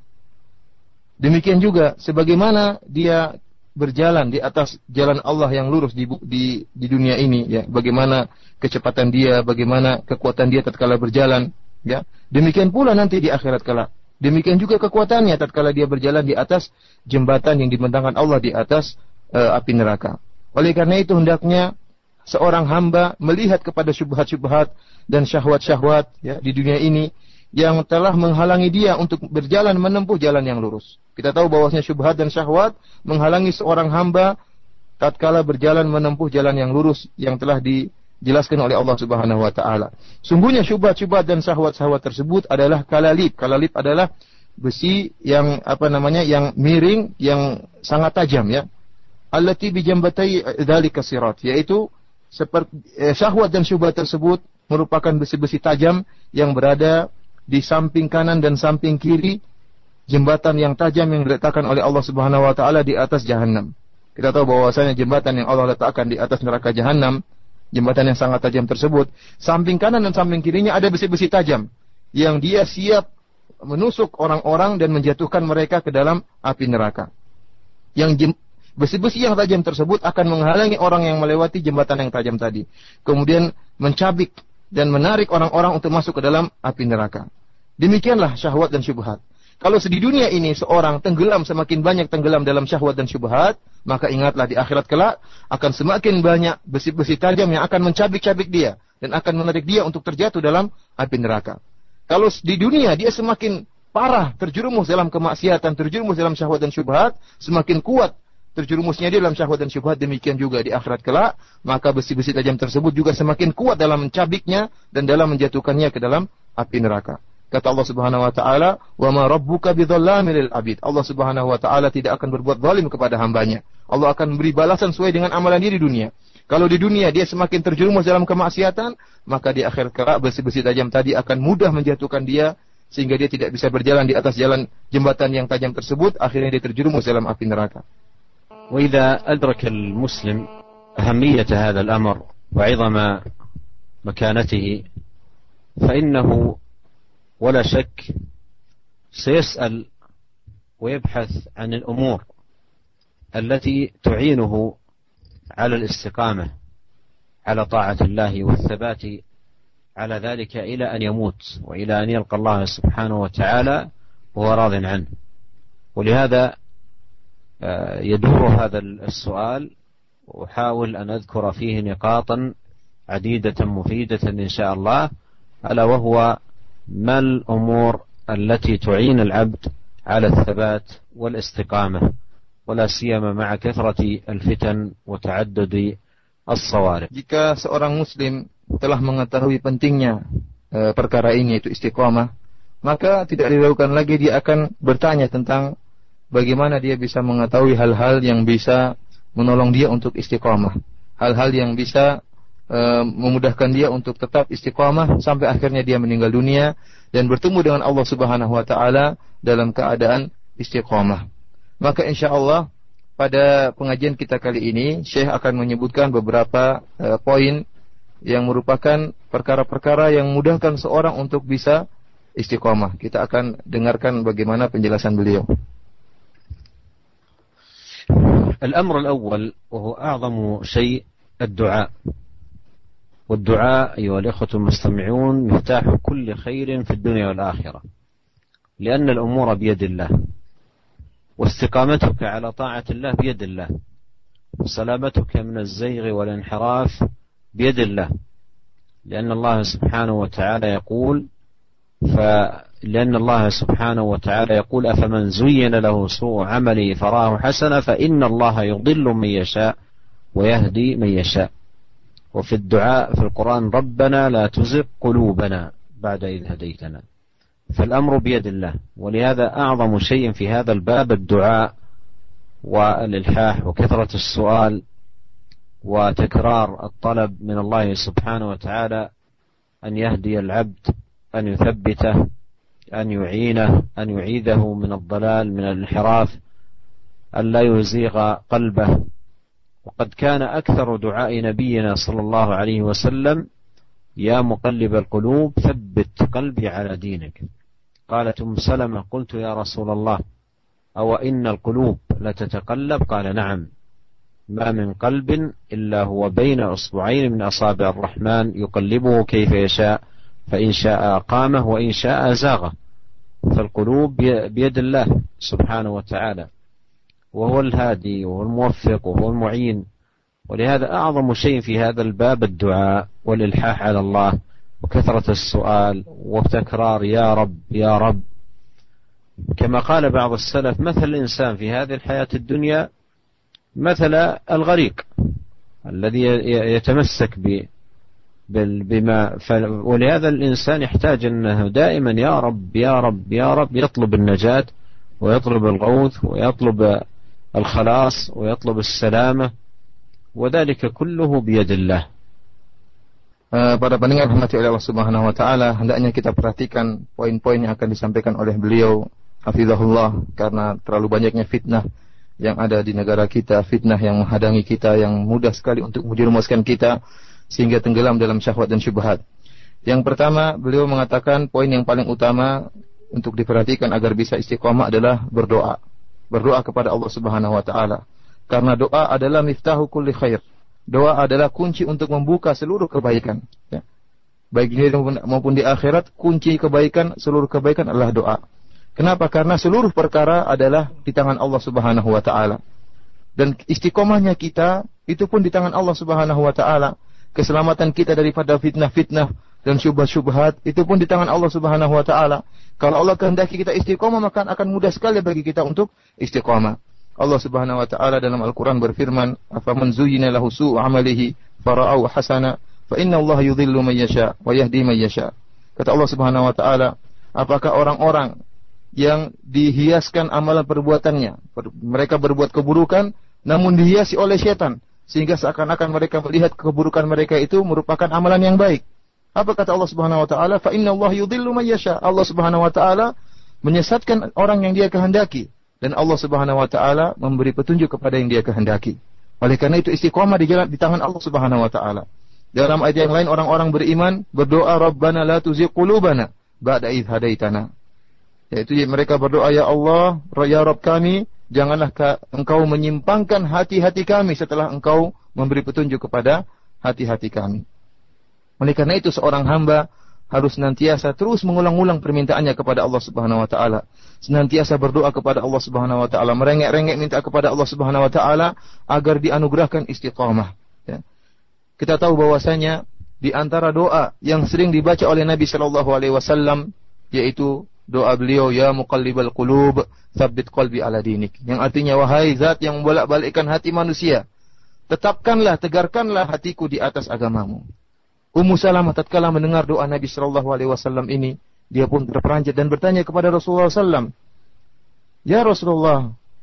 Demikian juga sebagaimana dia berjalan di atas jalan Allah yang lurus di di, di dunia ini, ya, bagaimana kecepatan dia, bagaimana kekuatan dia tatkala berjalan, ya. Demikian pula nanti di akhirat kelak, Demikian juga kekuatannya tatkala dia berjalan di atas jembatan yang dibentangkan Allah di atas uh, api neraka. Oleh karena itu hendaknya seorang hamba melihat kepada syubhat-syubhat dan syahwat-syahwat ya, di dunia ini yang telah menghalangi dia untuk berjalan menempuh jalan yang lurus. Kita tahu bahwasanya syubhat dan syahwat menghalangi seorang hamba tatkala berjalan menempuh jalan yang lurus yang telah dijelaskan oleh Allah Subhanahu wa taala. Sungguhnya syubhat-syubhat dan syahwat-syahwat tersebut adalah kalalib. Kalalib adalah besi yang apa namanya? yang miring, yang sangat tajam ya. Allati bi jambatai dzalika sirat, yaitu seperti eh, syahwat dan syubhat tersebut merupakan besi-besi tajam yang berada di samping kanan dan samping kiri jembatan yang tajam yang diletakkan oleh Allah Subhanahu wa taala di atas Jahannam. Kita tahu bahwasanya jembatan yang Allah letakkan di atas neraka Jahannam, jembatan yang sangat tajam tersebut, samping kanan dan samping kirinya ada besi-besi tajam yang dia siap menusuk orang-orang dan menjatuhkan mereka ke dalam api neraka. Yang jem, besi-besi yang tajam tersebut akan menghalangi orang yang melewati jembatan yang tajam tadi, kemudian mencabik dan menarik orang-orang untuk masuk ke dalam api neraka. Demikianlah syahwat dan syubhat. Kalau di dunia ini seorang tenggelam, semakin banyak tenggelam dalam syahwat dan syubhat, maka ingatlah di akhirat kelak akan semakin banyak besi-besi tajam yang akan mencabik-cabik dia dan akan menarik dia untuk terjatuh dalam api neraka. Kalau di dunia dia semakin parah terjerumus dalam kemaksiatan, terjerumus dalam syahwat dan syubhat, semakin kuat terjerumusnya dia dalam syahwat dan syubhat, demikian juga di akhirat kelak, maka besi-besi tajam tersebut juga semakin kuat dalam mencabiknya dan dalam menjatuhkannya ke dalam api neraka. Kata Allah Subhanahu wa taala, "Wa ma rabbuka bidzallamin lil 'abid." Allah Subhanahu wa taala tidak akan berbuat zalim kepada hambanya. Allah akan memberi balasan sesuai dengan amalan dia di dunia. Kalau di dunia dia semakin terjerumus dalam kemaksiatan, maka di akhir kelak besi-besi tajam tadi akan mudah menjatuhkan dia sehingga dia tidak bisa berjalan di atas jalan jembatan yang tajam tersebut, akhirnya dia terjerumus dalam api neraka. وإذا أدرك المسلم أهمية هذا الأمر وعظم مكانته فإنه ولا شك سيسأل ويبحث عن الأمور التي تعينه على الاستقامة على طاعة الله والثبات على ذلك إلى أن يموت وإلى أن يلقى الله سبحانه وتعالى وهو راض عنه. ولهذا يدور هذا السؤال وأحاول أن أذكر فيه نقاطا عديدة مفيدة إن شاء الله، ألا وهو ما الأمور التي تعين العبد على الثبات والاستقامة ولا سيما مع كثرة الفتن وتعدد الصوارف. Jika seorang muslim telah mengetahui pentingnya e, perkara ini, yaitu istiqamah, maka tidak diragukan lagi dia akan bertanya tentang bagaimana dia bisa mengetahui hal-hal yang bisa menolong dia untuk istiqamah, hal-hal yang bisa e, memudahkan dia untuk tetap istiqamah sampai akhirnya dia meninggal dunia dan bertemu dengan Allah Subhanahu wa taala dalam keadaan istiqamah. Maka insyaallah pada pengajian kita kali ini Syekh akan menyebutkan beberapa e, poin yang merupakan perkara-perkara yang memudahkan seorang untuk bisa istiqamah. Kita akan dengarkan bagaimana penjelasan beliau. الأمر الأول وهو أعظم شيء الدعاء، والدعاء أيها الإخوة المستمعون مفتاح كل خير في الدنيا والآخرة، لأن الأمور بيد الله، واستقامتك على طاعة الله بيد الله، وسلامتك من الزيغ والانحراف بيد الله، لأن الله سبحانه وتعالى يقول ف لأن الله سبحانه وتعالى يقول أفمن زين له سوء عمله فراه حسنا فإن الله يضل من يشاء ويهدي من يشاء. وفي الدعاء في القرآن ربنا لا تزغ قلوبنا بعد إذ هديتنا، فالأمر بيد الله. ولهذا أعظم شيء في هذا الباب الدعاء والإلحاح وكثرة السؤال وتكرار الطلب من الله سبحانه وتعالى أن يهدي العبد، أن يثبته، أن يعينه، أن يعيده من الضلال من الانحراف، أن لا يزيغ قلبه. وقد كان أكثر دعاء نبينا صلى الله عليه وسلم يا مقلب القلوب ثبت قلبي على دينك. قالت أم سلمة قلت يا رسول الله أو إن القلوب لتتقلب؟ قال نعم، ما من قلب إلا هو بين أصبعين من أصابع الرحمن يقلبه كيف يشاء، فإن شاء أقامه وإن شاء أزاغه. فالقلوب بيد الله سبحانه وتعالى، وهو الهادي وهو الموفق وهو المعين. ولهذا أعظم شيء في هذا الباب الدعاء والإلحاح على الله وكثرة السؤال وتكرار يا رب يا رب. كما قال بعض السلف: مثل الإنسان في هذه الحياة الدنيا مثل الغريق الذي يتمسك بما. ولهذا الإنسان يحتاج أنه دائما يا رب يا رب يا رب، يطلب النجاة ويطلب الغوث ويطلب الخلاص ويطلب السلامة، وذلك كله بيد الله. Uh, pada pendengar rahmati oleh Allah Subhanahu wa taala, hendaknya kita perhatikan poin-poin yang akan disampaikan oleh beliau hafizahullah, karena terlalu banyaknya fitnah yang ada di negara kita, fitnah yang menghadangi kita, yang mudah sekali untuk menjerumuskan kita sehingga tenggelam dalam syahwat dan syubhat. Yang pertama, beliau mengatakan poin yang paling utama untuk diperhatikan agar bisa istiqomah adalah berdoa. Berdoa kepada Allah Subhanahu wa taala. Karena doa adalah miftahu kulli khair. Doa adalah kunci untuk membuka seluruh kebaikan, ya. Baik di dunia maupun di akhirat, kunci kebaikan, seluruh kebaikan adalah doa. Kenapa? Karena seluruh perkara adalah di tangan Allah Subhanahu wa taala. Dan istiqomahnya kita itu pun di tangan Allah Subhanahu wa taala. Keselamatan kita daripada fitnah-fitnah dan syubhat-syubhat itu pun di tangan Allah Subhanahu wa taala. Kalau Allah kehendaki kita istiqomah, maka akan mudah sekali bagi kita untuk istiqomah. Allah Subhanahu wa taala dalam Al-Qur'an berfirman, "Afaman zuyyina lahu su'u 'amalihi fara'ahu hasana, fa inna Allah yudhillu man yasha wa yahdi man yasha." Kata Allah Subhanahu wa taala, apakah orang-orang yang dihiaskan amalan perbuatannya, mereka berbuat keburukan namun dihiasi oleh setan sehingga seakan-akan mereka melihat keburukan mereka itu merupakan amalan yang baik. Apa kata Allah Subhanahu wa taala? Fa inna Allah yudhillu man yasha. Allah Subhanahu wa taala menyesatkan orang yang Dia kehendaki. Dan Allah Subhanahu wa taala memberi petunjuk kepada yang Dia kehendaki. Oleh karena itu istiqomah di jalan di tangan Allah Subhanahu wa taala. Dalam ayat yang lain orang-orang beriman berdoa, Rabbana la tuzigh qulubana ba'da idh hadaitana. Yaitu mereka berdoa, ya Allah, ya Rabb kami, janganlah Engkau menyimpangkan hati-hati kami setelah Engkau memberi petunjuk kepada hati-hati kami. Oleh karena itu seorang hamba harus senantiasa terus mengulang-ulang permintaannya kepada Allah Subhanahu wa taala. Senantiasa berdoa kepada Allah Subhanahu wa taala, merengek-rengek minta kepada Allah Subhanahu wa taala agar dianugerahkan istiqamah, ya. Kita tahu bahwasanya di antara doa yang sering dibaca oleh Nabi sallallahu alaihi wasallam yaitu doa beliau, ya muqallibal qulub, tsabbit qalbi ala dinik, yang artinya wahai zat yang membolak-balikkan hati manusia, tetapkanlah, tegarkanlah hatiku di atas agamamu. Ummu Salamah tatkala mendengar doa Nabi sallallahu alaihi wasallam ini, dia pun terperanjat dan bertanya kepada Rasulullah sallallahu alaihi wasallam, "Ya Rasulullah,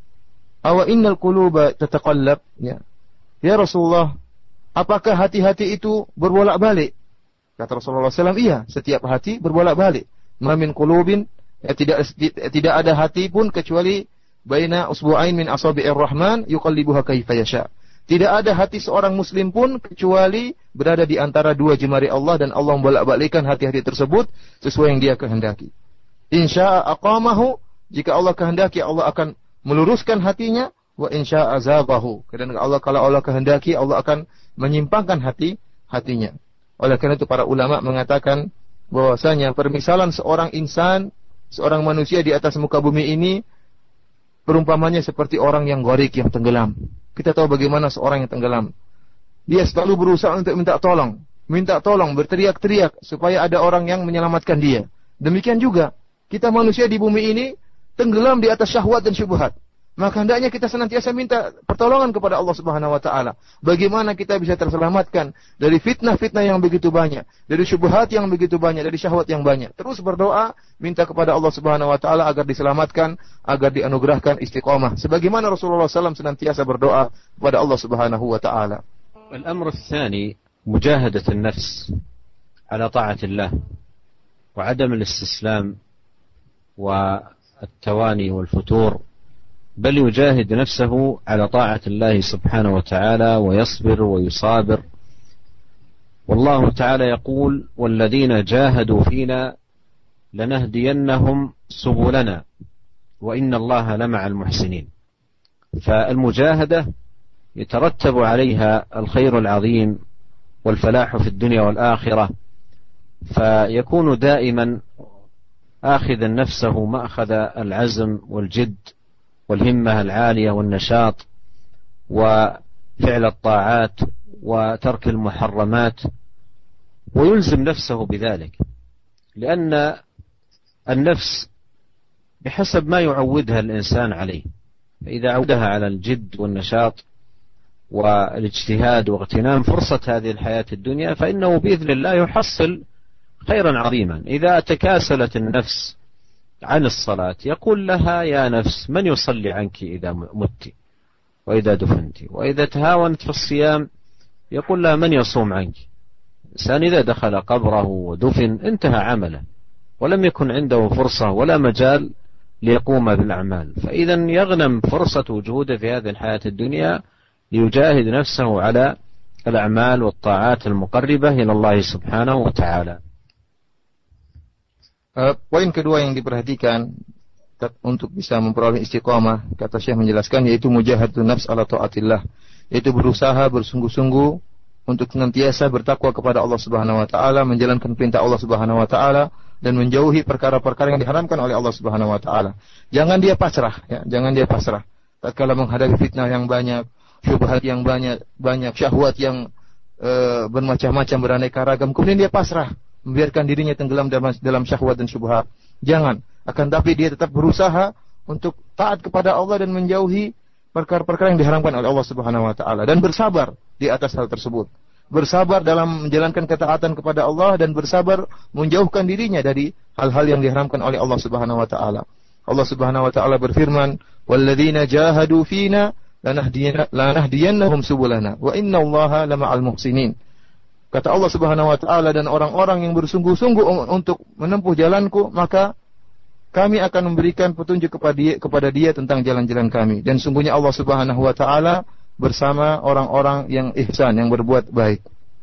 awa innal quluba tataqallab?" Ya. Ya Rasulullah, apakah hati-hati itu berbolak-balik? Kata Rasulullah sallallahu alaihi wasallam, "Iya, setiap hati berbolak-balik. Ma min qulubin, ya, tidak tidak ada hati pun kecuali baina usbu'ain min asabi'ir rahman yuqallibuha kaifa yasha." Tidak ada hati seorang muslim pun kecuali berada di antara dua jemari Allah, dan Allah membolak-balikkan hati-hati tersebut sesuai yang Dia kehendaki. Insya'a aqamahu, jika Allah kehendaki Allah akan meluruskan hatinya, wa insya'a zaghahu, dan Allah kalau Allah kehendaki Allah akan menyimpangkan hati hatinya. Oleh karena itu para ulama mengatakan bahwasanya permisalan seorang insan, seorang manusia di atas muka bumi ini perumpamannya seperti orang yang gharik, yang tenggelam. Kita tahu bagaimana seorang yang tenggelam. Dia selalu berusaha untuk minta tolong. Minta tolong, berteriak-teriak supaya ada orang yang menyelamatkan dia. Demikian juga, kita manusia di bumi ini tenggelam di atas syahwat dan syubhat. Maka hendaknya kita senantiasa minta pertolongan kepada Allah Subhanahu wa taala. Bagaimana kita bisa terselamatkan dari fitnah-fitnah yang begitu banyak, dari syubhat yang begitu banyak, dari syahwat yang banyak. Terus berdoa, minta kepada Allah Subhanahu wa taala agar diselamatkan, agar dianugerahkan istiqamah. Sebagaimana Rasulullah sallallahu alaihi wasallam senantiasa berdoa kepada Allah Subhanahu wa taala. الأمر الثاني مجاهدة النفس على طاعة الله وعدم الاستسلام والتواني والفتور، بل يجاهد نفسه على طاعة الله سبحانه وتعالى ويصبر ويصابر. والله تعالى يقول والذين جاهدوا فينا لنهدينهم سبلنا وإن الله لمع المحسنين. فالمجاهدة يترتب عليها الخير العظيم والفلاح في الدنيا والآخرة، فيكون دائما آخذا نفسه مأخذ العزم والجد والهمة العالية والنشاط وفعل الطاعات وترك المحرمات، ويلزم نفسه بذلك، لأن النفس بحسب ما يعودها الإنسان عليه، فإذا عودها على الجد والنشاط والاجتهاد واغتنام فرصة هذه الحياة الدنيا فإنه بإذن الله يحصل خيرا عظيما. إذا تكاسلت النفس عن الصلاة يقول لها: يا نفس من يصلي عنك إذا مت وإذا دفنت؟ وإذا تهاونت في الصيام يقول لها: من يصوم عنك؟ الإنسان إذا دخل قبره ودفن انتهى عمله ولم يكن عنده فرصة ولا مجال ليقوم بالأعمال، فإذا يغنم فرصة وجوده في هذه الحياة الدنيا ليجاهد نفسه على الأعمال والطاعات المقربة إلى الله سبحانه وتعالى. Uh, poin kedua yang diperhatikan untuk bisa memperoleh istiqamah, kata Syekh menjelaskan, yaitu mujahadun nafs ala taatillah, yaitu berusaha bersungguh-sungguh untuk senantiasa bertakwa kepada Allah Subhanahu wa taala, menjalankan perintah Allah Subhanahu wa taala dan menjauhi perkara-perkara yang diharamkan oleh Allah Subhanahu wa taala. Jangan dia pasrah, ya, jangan dia pasrah. Tatkala menghadapi fitnah yang banyak, syubhat yang banyak, banyak syahwat yang uh, bermacam-macam, beraneka ragam, kemudian dia pasrah, membiarkan dirinya tenggelam dalam, dalam syahwat dan syubhat. Jangan, akan tapi dia tetap berusaha untuk taat kepada Allah dan menjauhi perkara-perkara yang diharamkan oleh Allah Subhanahu wa taala dan bersabar di atas hal tersebut. Bersabar dalam menjalankan ketaatan kepada Allah dan bersabar menjauhkan dirinya dari hal-hal yang diharamkan oleh Allah Subhanahu wa taala. Allah Subhanahu wa taala berfirman, "Walladzina jahadu fina lanahdiyannahum subulana wa innallaha lama'al muhsinin." Kata Allah Subhanahu wa taala, dan orang-orang yang bersungguh-sungguh untuk menempuh jalanku, maka kami akan memberikan petunjuk kepada dia, kepada dia tentang jalan-jalan kami, dan sungguhnya Allah Subhanahu wa taala bersama orang-orang yang ihsan, yang berbuat baik.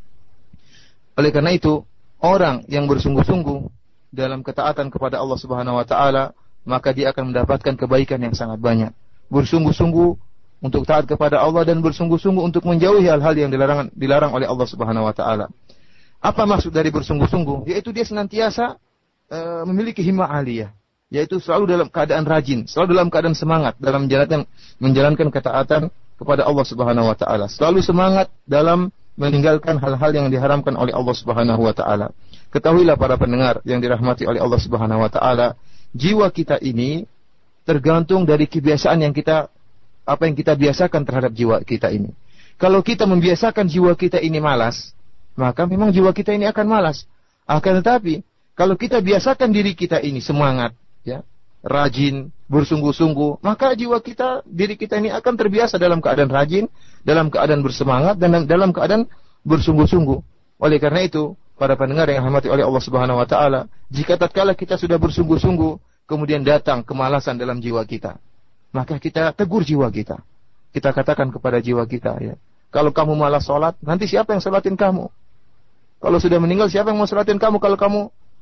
Oleh karena itu, orang yang bersungguh-sungguh dalam ketaatan kepada Allah Subhanahu wa taala, maka dia akan mendapatkan kebaikan yang sangat banyak. Bersungguh-sungguh untuk taat kepada Allah dan bersungguh-sungguh untuk menjauhi hal-hal yang dilarang, dilarang oleh Allah Subhanahu wa taala. Apa maksud dari bersungguh-sungguh? Yaitu dia senantiasa uh, memiliki himmah aliyah, yaitu selalu dalam keadaan rajin, selalu dalam keadaan semangat dalam menjalankan menjalankan ketaatan kepada Allah Subhanahu wa taala, selalu semangat dalam meninggalkan hal-hal yang diharamkan oleh Allah Subhanahu wa taala. Ketahuilah para pendengar yang dirahmati oleh Allah Subhanahu wa taala, jiwa kita ini tergantung dari kebiasaan yang kita apa yang kita biasakan terhadap jiwa kita ini. Kalau kita membiasakan jiwa kita ini malas, maka memang jiwa kita ini akan malas. Akan tetapi kalau kita biasakan diri kita ini semangat, ya, rajin, bersungguh-sungguh, maka jiwa kita, diri kita ini akan terbiasa dalam keadaan rajin, dalam keadaan bersemangat, dan dalam keadaan bersungguh-sungguh. Oleh karena itu, para pendengar yang dirahmati oleh Allah Subhanahu wa taala, jika tatkala kita sudah bersungguh-sungguh, kemudian datang kemalasan dalam jiwa kita, maka kita tegur jiwa kita. Kita katakan kepada jiwa kita, ya, kalau kamu malas sholat, nanti siapa yang sholatin kamu? Kalau sudah meninggal, siapa yang mau sholatin kamu kalau kamu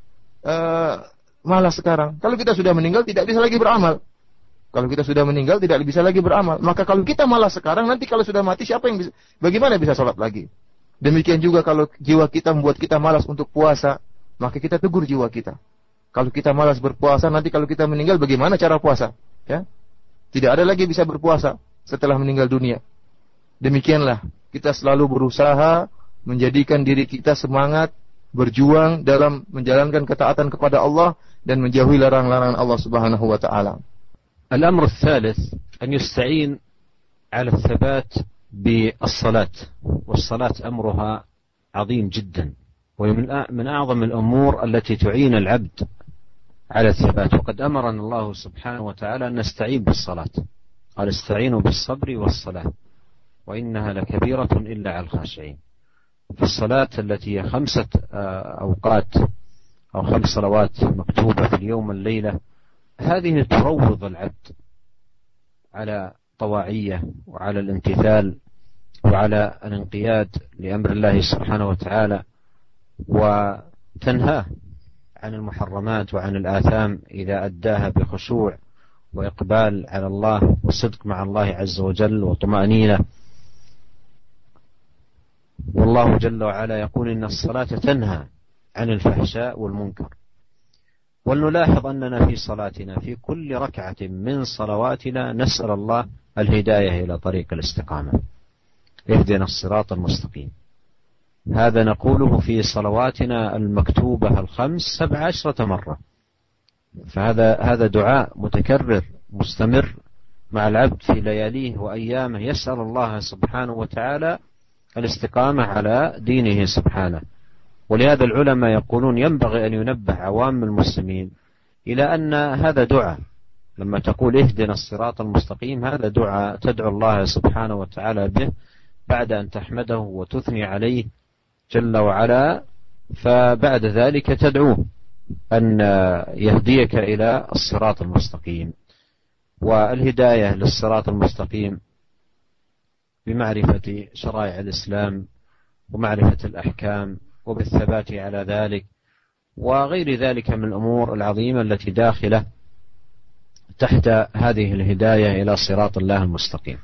uh, malas sekarang? Kalau kita sudah meninggal, tidak bisa lagi beramal. Kalau kita sudah meninggal, tidak bisa lagi beramal. Maka kalau kita malas sekarang, nanti kalau sudah mati, siapa yang bisa, bagaimana bisa sholat lagi? Demikian juga kalau jiwa kita membuat kita malas untuk puasa, maka kita tegur jiwa kita. Kalau kita malas berpuasa, nanti kalau kita meninggal, bagaimana cara puasa? Ya, tidak ada lagi bisa berpuasa setelah meninggal dunia. Demikianlah kita selalu berusaha menjadikan diri kita semangat, berjuang dalam menjalankan ketaatan kepada Allah dan menjauhi larangan-larangan Allah Subhanahu wa taala. الأمر الثالث أن يستعين على الثبات بالصلاة، والصلاة أمرها عظيم جدا، ومن من أعظم الأمور التي تعين العبد على الثبات. وقد أمرنا الله سبحانه وتعالى أن نستعين بالصلاة، قال استعينوا بالصبر والصلاة وإنها لكبيرة إلا على الخاشعين. فالصلاة التي هي خمسة أوقات أو خمس صلوات مكتوبة في اليوم والليلة، هذه تروض العبد على طواعية وعلى الامتثال وعلى الانقياد لأمر الله سبحانه وتعالى، وتنهاه عن المحرمات وعن الآثام إذا أداها بخشوع وإقبال على الله وصدق مع الله عز وجل وطمأنينة. والله جل وعلا يقول إن الصلاة تنهى عن الفحشاء والمنكر. ولنلاحظ أننا في صلاتنا في كل ركعة من صلواتنا نسأل الله الهداية إلى طريق الاستقامة. اهدنا الصراط المستقيم. هذا نقوله في صلواتنا المكتوبة الخمس سبع عشرة مرة. فهذا هذا دعاء متكرر مستمر مع العبد في لياليه وأيامه، يسأل الله سبحانه وتعالى الاستقامة على دينه سبحانه. ولهذا العلماء يقولون ينبغي أن ينبه عوام المسلمين إلى أن هذا دعاء، لما تقول اهدنا الصراط المستقيم هذا دعاء تدعو الله سبحانه وتعالى به بعد أن تحمده وتثني عليه جل وعلا، فبعد ذلك تدعوه أن يهديك إلى الصراط المستقيم. والهداية للصراط المستقيم بمعرفة شرائع الإسلام ومعرفة الأحكام وبالثبات على ذلك وغير ذلك من الأمور العظيمة التي داخلة تحت هذه الهداية إلى صراط الله المستقيم.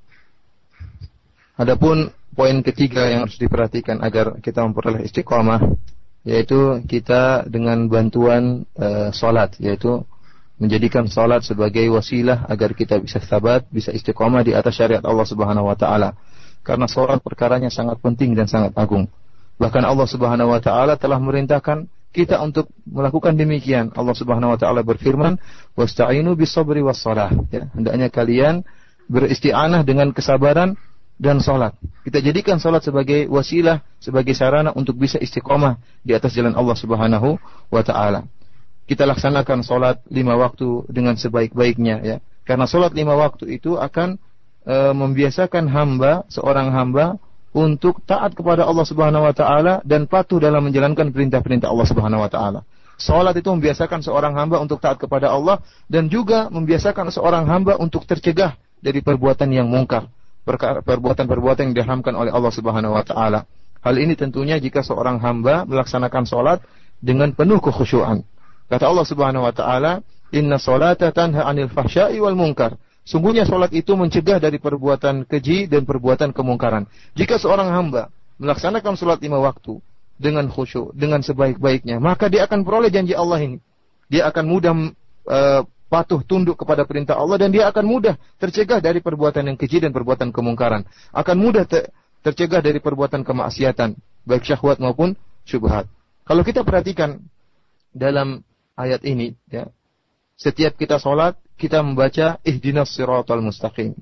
Adapun poin ketiga yang harus diperhatikan agar kita memperoleh istiqamah, yaitu kita dengan bantuan e, salat, yaitu menjadikan salat sebagai wasilah agar kita bisa sabat, bisa istiqamah di atas syariat Allah Subhanahu wa taala. Karena salat perkaranya sangat penting dan sangat agung. Bahkan Allah Subhanahu wa taala telah merintahkan kita untuk melakukan demikian. Allah Subhanahu wa taala berfirman, "Wasta'inu bis-sabri was-shalah." Ya, hendaknya kalian beristi'anah dengan kesabaran dan salat. Kita jadikan salat sebagai wasilah, sebagai sarana untuk bisa istiqamah di atas jalan Allah Subhanahu wa taala. Kita laksanakan salat lima waktu dengan sebaik-baiknya, ya. Karena salat lima waktu itu akan e, membiasakan hamba, seorang hamba untuk taat kepada Allah Subhanahu wa taala dan patuh dalam menjalankan perintah-perintah Allah Subhanahu wa taala. Salat itu membiasakan seorang hamba untuk taat kepada Allah dan juga membiasakan seorang hamba untuk tercegah dari perbuatan yang mungkar, perbuatan-perbuatan yang diharamkan oleh Allah Subhanahu wa taala. Hal ini tentunya jika seorang hamba melaksanakan salat dengan penuh kekhusyuan. Kata Allah Subhanahu wa taala, "Inna sholata tanha 'anil fahsya'i wal munkar." Sungguhnya salat itu mencegah dari perbuatan keji dan perbuatan kemungkaran. Jika seorang hamba melaksanakan salat lima waktu dengan khusyuk, dengan sebaik-baiknya, maka dia akan peroleh janji Allah ini. Dia akan mudah uh, patuh tunduk kepada perintah Allah dan dia akan mudah tercegah dari perbuatan yang keji dan perbuatan kemungkaran. Akan mudah ter- tercegah dari perbuatan kemaksiatan, baik syahwat maupun syubhat. Kalau kita perhatikan dalam ayat ini, ya, setiap kita sholat, kita membaca ihdinas siratal mustaqim.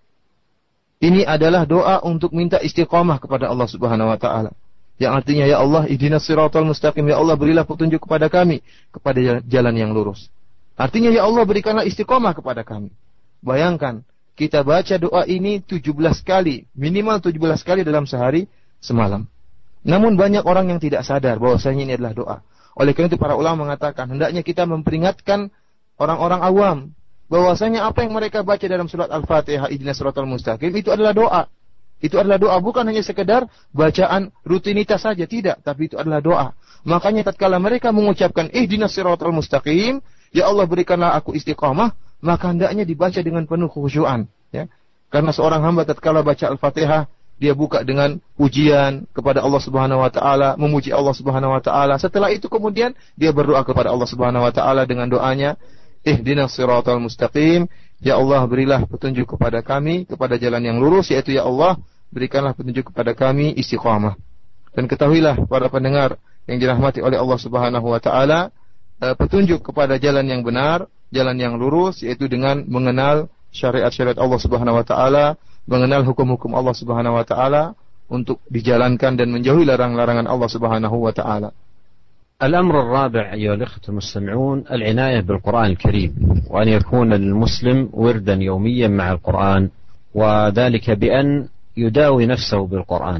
Ini adalah doa untuk minta istiqamah kepada Allah Subhanahu wa taala. Yang artinya, ya Allah, ihdinas siratal mustaqim, ya Allah berilah petunjuk kepada kami kepada jalan yang lurus. Artinya, ya Allah berikanlah istiqamah kepada kami. Bayangkan, kita baca doa ini tujuh belas kali, minimal tujuh belas kali dalam sehari semalam. Namun banyak orang yang tidak sadar bahwasanya ini adalah doa. Oleh karena itu para ulama mengatakan, hendaknya kita memperingatkan orang-orang awam bahwasanya apa yang mereka baca dalam surat Al-Fatihah, ihdinas siratal mustaqim, itu adalah doa. Itu adalah doa, bukan hanya sekedar bacaan rutinitas saja, tidak, tapi itu adalah doa. Makanya tatkala mereka mengucapkan ihdinas siratal mustaqim, ya Allah berikanlah aku istiqamah, maka hendaknya dibaca dengan penuh kekhusyuan, ya. Karena seorang hamba tatkala baca Al-Fatihah, dia buka dengan pujian kepada Allah Subhanahu wa taala, memuji Allah Subhanahu wa taala. Setelah itu kemudian dia berdoa kepada Allah Subhanahu wa taala dengan doanya, ihdinas siratal mustaqim, ya Allah berilah petunjuk kepada kami kepada jalan yang lurus, yaitu ya Allah berikanlah petunjuk kepada kami istiqamah. Dan ketahuilah para pendengar yang dirahmati oleh Allah Subhanahu wa taala, petunjuk kepada jalan yang benar, jalan yang lurus, yaitu dengan mengenal syariat-syariat Allah Subhanahu wa taala, mengenal hukum-hukum Allah Subhanahu wa taala untuk dijalankan dan menjauhi larang-larangan Allah Subhanahu wa taala. الأمر الرابع أيها الأخوة المستمعون العناية بالقرآن الكريم، وأن يكون للمسلم وردا يوميا مع القرآن، وذلك بأن يداوي نفسه بالقرآن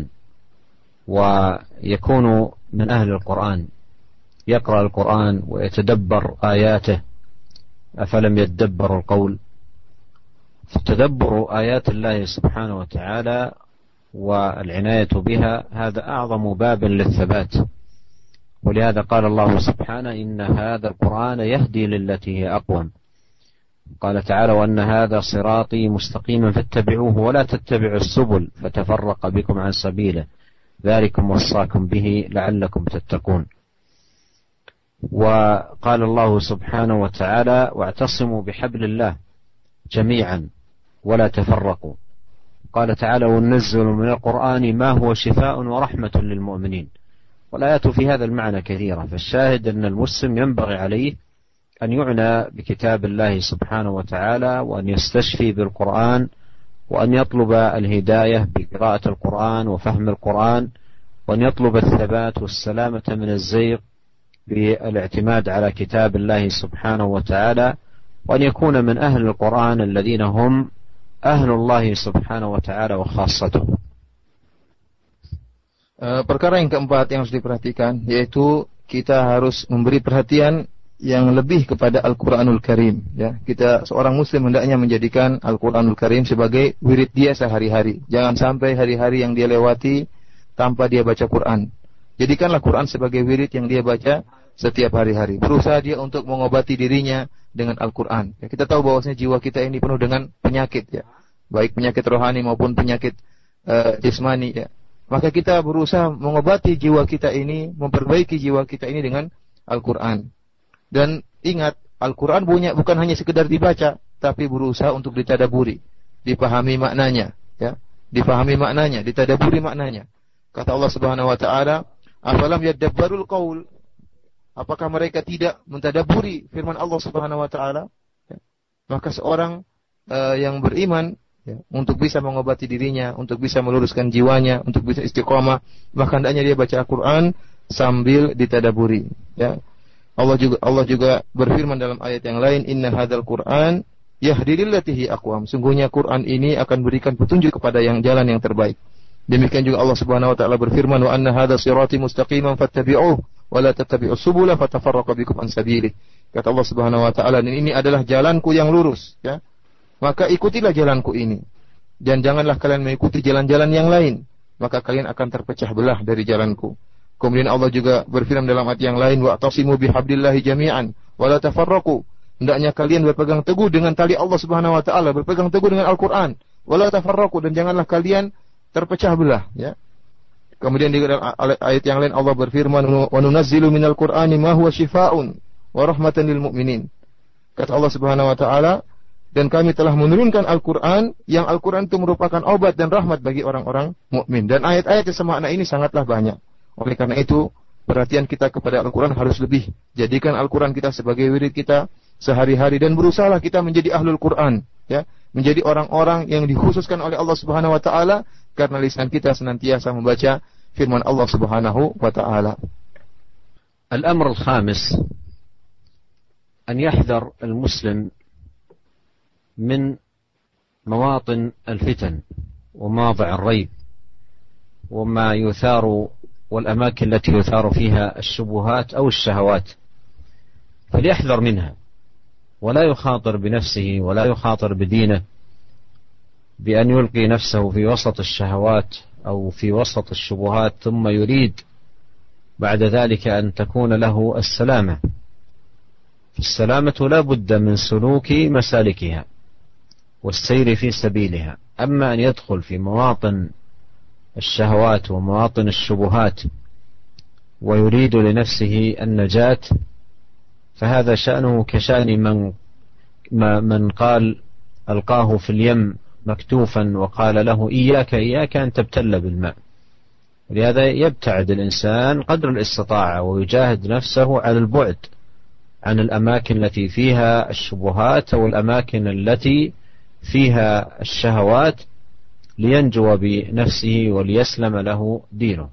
ويكون من أهل القرآن، يقرأ القرآن ويتدبر آياته. أفلم يتدبروا القول؟ فتدبر آيات الله سبحانه وتعالى والعناية بها هذا أعظم باب للثبات. ولهذا قال الله سبحانه إن هذا القرآن يهدي للتي هي أقوم. قال تعالى وأن هذا صراطي مستقيما فاتبعوه ولا تتبعوا السبل فتفرق بكم عن سبيله ذلكم وصاكم به لعلكم تتقون. وقال الله سبحانه وتعالى واعتصموا بحبل الله جميعا ولا تفرقوا. قال تعالى وننزل من القرآن ما هو شفاء ورحمة للمؤمنين. والآيات في هذا المعنى كثيرة، فالشاهد أن المسلم ينبغي عليه أن يعنى بكتاب الله سبحانه وتعالى، وأن يستشفي بالقرآن، وأن يطلب الهداية بقراءة القرآن وفهم القرآن، وأن يطلب الثبات والسلامة من الزيغ بالاعتماد على كتاب الله سبحانه وتعالى، وأن يكون من أهل القرآن الذين هم أهل الله سبحانه وتعالى وخاصته. Perkara yang keempat yang harus diperhatikan yaitu kita harus memberi perhatian yang lebih kepada Al-Quranul Karim. Ya, kita seorang Muslim hendaknya menjadikan Al-Quranul Karim sebagai wirid dia sehari-hari. Jangan sampai hari-hari yang dia lewati tanpa dia baca Quran. Jadikanlah Quran sebagai wirid yang dia baca setiap hari-hari. Berusaha dia untuk mengobati dirinya dengan Al-Quran. Ya, kita tahu bahwasanya jiwa kita ini penuh dengan penyakit, ya, baik penyakit rohani maupun penyakit uh, jasmani. Ya. Maka kita berusaha mengobati jiwa kita ini, memperbaiki jiwa kita ini dengan Al-Quran. Dan ingat, Al-Quran punya bukan hanya sekedar dibaca, tapi berusaha untuk ditadaburi, dipahami maknanya, ya, dipahami maknanya, ditadaburi maknanya. Kata Allah Subhanahu Wa Taala, "Afalam yadabbarul qaul?" Apakah mereka tidak mentadaburi firman Allah Subhanahu Wa Taala? Ya. Maka seorang uh, yang beriman, ya, untuk bisa mengobati dirinya, untuk bisa meluruskan jiwanya, untuk bisa istiqamah, maka hendaknya dia baca Al-Quran sambil ditadaburi. Ya. Allah juga Allah juga berfirman dalam ayat yang lain, "Inna hadzal Qur'an yahdi lillati hi aqwam." Sungguhnya Quran ini akan berikan petunjuk kepada yang jalan yang terbaik. Demikian juga Allah Subhanahu wa taala berfirman, "Wa anna hadza sirati mustaqiman fattabi'uhu wa la tattabi'us subula fatafarraqu bikum an sabilihi." Kata Allah Subhanahu wa taala, "Ini adalah jalanku yang lurus, ya. Maka ikutilah jalanku ini. Dan janganlah kalian mengikuti jalan-jalan yang lain, maka kalian akan terpecah belah dari jalanku." Kemudian Allah juga berfirman dalam ayat yang lain, "Wa'tasimu bihablillahi jami'an wa la tafarraqu." Hendaknya kalian berpegang teguh dengan tali Allah Subhanahu wa taala, berpegang teguh dengan Al-Qur'an, wa la tafarraqu, dan janganlah kalian terpecah belah, ya. Kemudian di ayat yang lain Allah berfirman, "Wa nunazzilu minal Qur'ani ma huwa shifaa'un wa rahmatan lil mu'minin." Kata Allah Subhanahu wa taala, dan kami telah menurunkan Al-Quran, yang Al-Quran itu merupakan obat dan rahmat bagi orang-orang mukmin. Dan ayat-ayat yang semakna ini sangatlah banyak. Oleh karena itu, perhatian kita kepada Al-Quran harus lebih. Jadikan Al-Quran kita sebagai wirid kita sehari-hari, dan berusahalah kita menjadi ahlul Quran, ya, menjadi orang-orang yang dikhususkan oleh Allah Subhanahu wa taala, karena lisan kita senantiasa membaca firman Allah Subhanahu wa taala. Al-amr al-khamis an yahdhar al-muslim من مواطن الفتن ومواضع الريب وما يثار والأماكن التي يثار فيها الشبهات أو الشهوات، فليحذر منها ولا يخاطر بنفسه ولا يخاطر بدينه بأن يلقي نفسه في وسط الشهوات أو في وسط الشبهات ثم يريد بعد ذلك أن تكون له السلامة. فالسلامة لا بد من سلوك مسالكها والسير في سبيلها. أما أن يدخل في مواطن الشهوات ومواطن الشبهات ويريد لنفسه النجاة، فهذا شأنه كشأن من من قال ألقاه في اليم مكتوفا وقال له إياك إياك أن تبتل بالماء. ولهذا يبتعد الإنسان قدر الاستطاعة ويجاهد نفسه على البعد عن الأماكن التي فيها الشبهات أو الأماكن التي فيها الشهوات لينجو بنفسه وليسلم له دينه.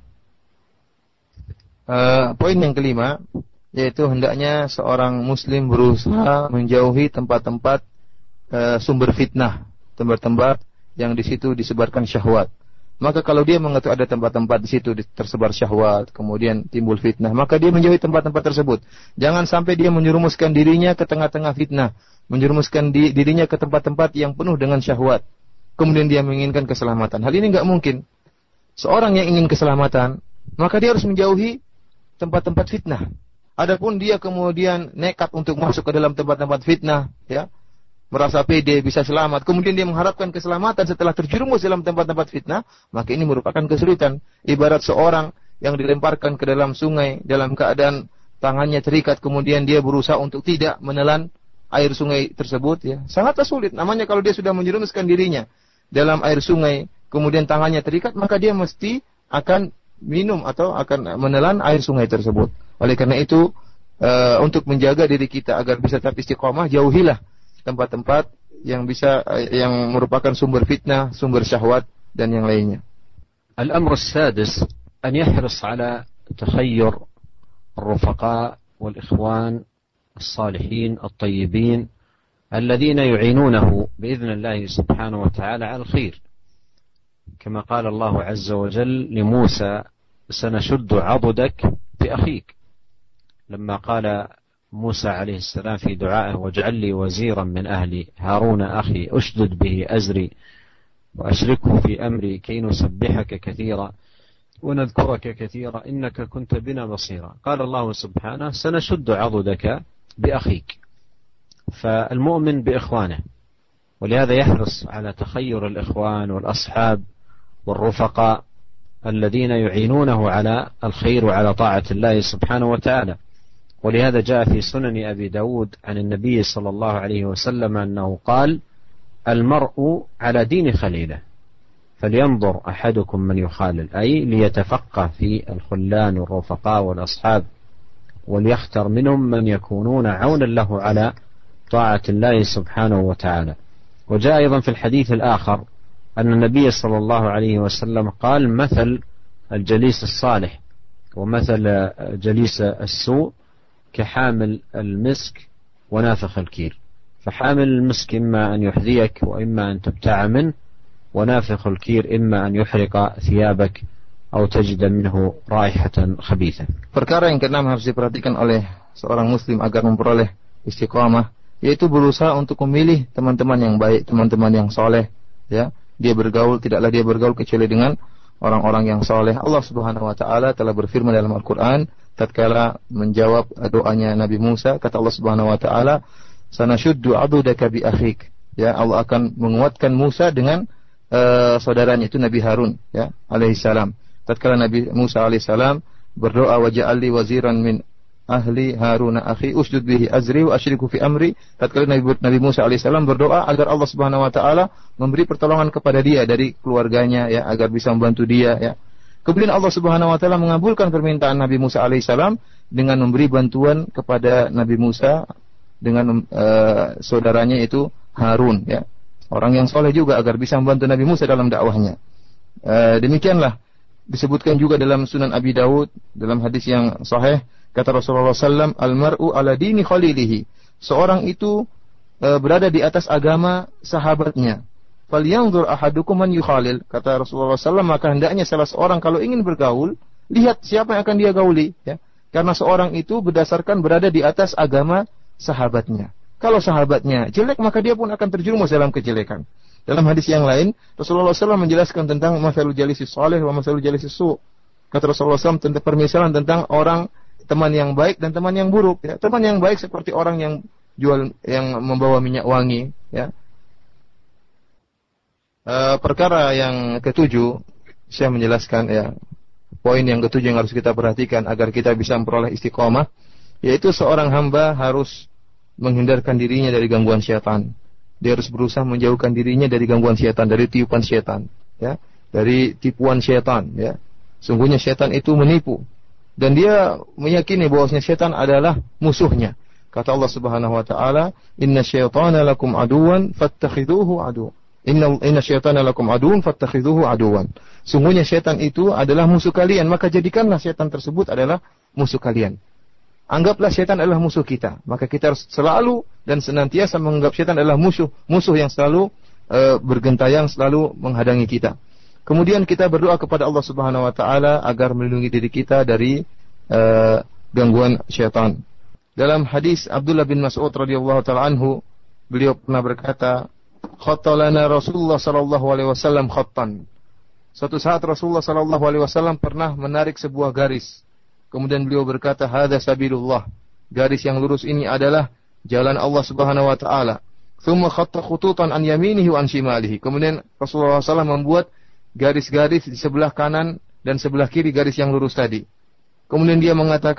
Uh, poin yang kelima yaitu hendaknya seorang muslim berusaha menjauhi tempat-tempat uh, sumber fitnah, tempat-tempat yang di situ disebarkan syahwat. Maka kalau dia mengetahui ada tempat-tempat di situ tersebar syahwat, kemudian timbul fitnah, maka dia menjauhi tempat-tempat tersebut. Jangan sampai dia menjerumuskan dirinya ke tengah-tengah fitnah, menjerumuskan di, dirinya ke tempat-tempat yang penuh dengan syahwat. Kemudian dia menginginkan keselamatan. Hal ini enggak mungkin. Seorang yang ingin keselamatan, maka dia harus menjauhi tempat-tempat fitnah. Adapun dia kemudian nekat untuk masuk ke dalam tempat-tempat fitnah, ya, merasa pede bisa selamat, kemudian dia mengharapkan keselamatan setelah terjerumus dalam tempat-tempat fitnah, maka ini merupakan kesulitan. Ibarat seorang yang dilemparkan ke dalam sungai dalam keadaan tangannya terikat, kemudian dia berusaha untuk tidak menelan air sungai tersebut, ya, sangatlah sulit. Namanya kalau dia sudah menjerumuskan dirinya dalam air sungai, kemudian tangannya terikat, maka dia mesti akan minum atau akan menelan air sungai tersebut. Oleh karena itu, uh, untuk menjaga diri kita agar bisa tetap istiqomah, jauhilah tempat-tempat yang bisa uh, yang merupakan sumber fitnah, sumber syahwat dan yang lainnya. الأمر السادس أن يحرص على تخير الرفقاء والإخوان الصالحين الطيبين الذين يعينونه بإذن الله سبحانه وتعالى على الخير، كما قال الله عز وجل لموسى: سنشد عضدك بأخيك، لما قال موسى عليه السلام في دعائه: واجعل لي وزيرا من أهلي هارون أخي أشدد به أزري وأشركه في أمري كي نسبحك كثيرا ونذكرك كثيرا إنك كنت بنا بصيرا. قال الله سبحانه: سنشد عضدك بأخيك. فالمؤمن بإخوانه، ولهذا يحرص على تخير الإخوان والأصحاب والرفقاء الذين يعينونه على الخير وعلى طاعة الله سبحانه وتعالى. ولهذا جاء في سنن أبي داود عن النبي صلى الله عليه وسلم أنه قال: المرء على دين خليله فلينظر أحدكم من يخالل، أي ليتفقه في الخلان والرفقاء والأصحاب وليختر منهم من يكونون عونا له على طاعة الله سبحانه وتعالى. وجاء أيضا في الحديث الآخر أن النبي صلى الله عليه وسلم قال: مثل الجليس الصالح ومثل جليس السوء كحامل المسك ونافخ الكير. فحامل المسك إما أن يحذيك وإما أن تبتاع منه، ونافخ الكير إما أن يحرق ثيابك أو تجد منه رائحة خبيثة. Perkara yang keenam harus diperhatikan oleh seorang muslim agar memperoleh istiqamah, yaitu berusaha untuk memilih teman-teman yang baik, teman-teman yang soleh, ya. Dia bergaul, tidaklah dia bergaul kecuali dengan orang-orang yang soleh. Allah Subhanahu wa taala telah berfirman dalam Al-Qur'an tatkala menjawab doanya Nabi Musa, kata Allah Subhanahu wa taala: "Sanashuddu 'adudaka bi akhik." Ya, Allah akan menguatkan Musa dengan uh, saudaranya itu Nabi Harun, ya, alaihi salam. Tatkala Nabi Musa alaihi salam berdoa, "Waj'alli waziran min ahli Harun akhi usdud bihi azri wa asyriku fi amri." Tatkala Nabi, Nabi Musa alaihissalam berdoa agar Allah Subhanahu wa taala memberi pertolongan kepada dia dari keluarganya, ya, agar bisa membantu dia, ya. Kemudian Allah Subhanahu wa taala mengabulkan permintaan Nabi Musa alaihissalam dengan memberi bantuan kepada Nabi Musa dengan uh, saudaranya itu Harun, ya. Orang yang soleh juga agar bisa membantu Nabi Musa dalam dakwahnya. Uh, demikianlah disebutkan juga dalam Sunan Abi Daud dalam hadis yang sahih, kata Rasulullah sallallahu alaihi wasallam, "Al-mar'u ala dini khalilihi." Seorang itu e, berada di atas agama sahabatnya. "Falyanzur ahadukum man yukhalil." Kata Rasulullah sallallahu alaihi wasallam, maka hendaknya salah seorang kalau ingin bergaul, lihat siapa yang akan dia gauli, ya. Karena seorang itu berdasarkan berada di atas agama sahabatnya. Kalau sahabatnya jelek, maka dia pun akan terjerumus dalam kejelekan. Dalam hadis yang lain, Rasulullah sallallahu alaihi wasallam menjelaskan tentang masalul jalisis salih wa masalul jalisis su'. Kata Rasulullah sallallahu alaihi wasallam tentang permisalan tentang orang teman yang baik dan teman yang buruk, ya. Teman yang baik seperti orang yang jual, yang membawa minyak wangi, ya. E, perkara yang ketujuh, saya menjelaskan, ya, poin yang ketujuh yang harus kita perhatikan agar kita bisa memperoleh istiqomah, yaitu seorang hamba harus menghindarkan dirinya dari gangguan syaitan. Dia harus berusaha menjauhkan dirinya dari gangguan syaitan, dari tiupan syaitan, ya, dari tipuan syaitan, ya. Sungguhnya syaitan itu menipu. Dan dia meyakini bahwasanya syaitan adalah musuhnya. Kata Allah Subhanahu wa taala, "Inna syaitana lakum aduwan fattakhidhuhu adu." Inna inna syaitana lakum aduwan fattakhidhuhu aduwan. Sungguhnya syaitan itu adalah musuh kalian, maka jadikanlah syaitan tersebut adalah musuh kalian. Anggaplah syaitan adalah musuh kita, maka kita harus selalu dan senantiasa menganggap syaitan adalah musuh, musuh yang selalu uh, bergentayang, selalu menghadangi kita. Kemudian kita berdoa kepada Allah Subhanahu wa taala agar melindungi diri kita dari uh, gangguan syaitan. Dalam hadis Abdullah bin Mas'ud radhiyallahu taala anhu, beliau pernah berkata, "Khattalana Rasulullah sallallahu alaihi wasallam khattan." Suatu saat Rasulullah sallallahu alaihi wasallam pernah menarik sebuah garis. Kemudian beliau berkata, "Hadza sabilullah." Garis yang lurus ini adalah jalan Allah Subhanahu wa taala. Tsumma khatta khututan an yaminihi wa an shimalihi. Kemudian Rasulullah sallallahu alaihi wasallam membuat garis-garis di sebelah kanan dan sebelah kiri garis yang lurus tadi. Kemudian dia mengatakan,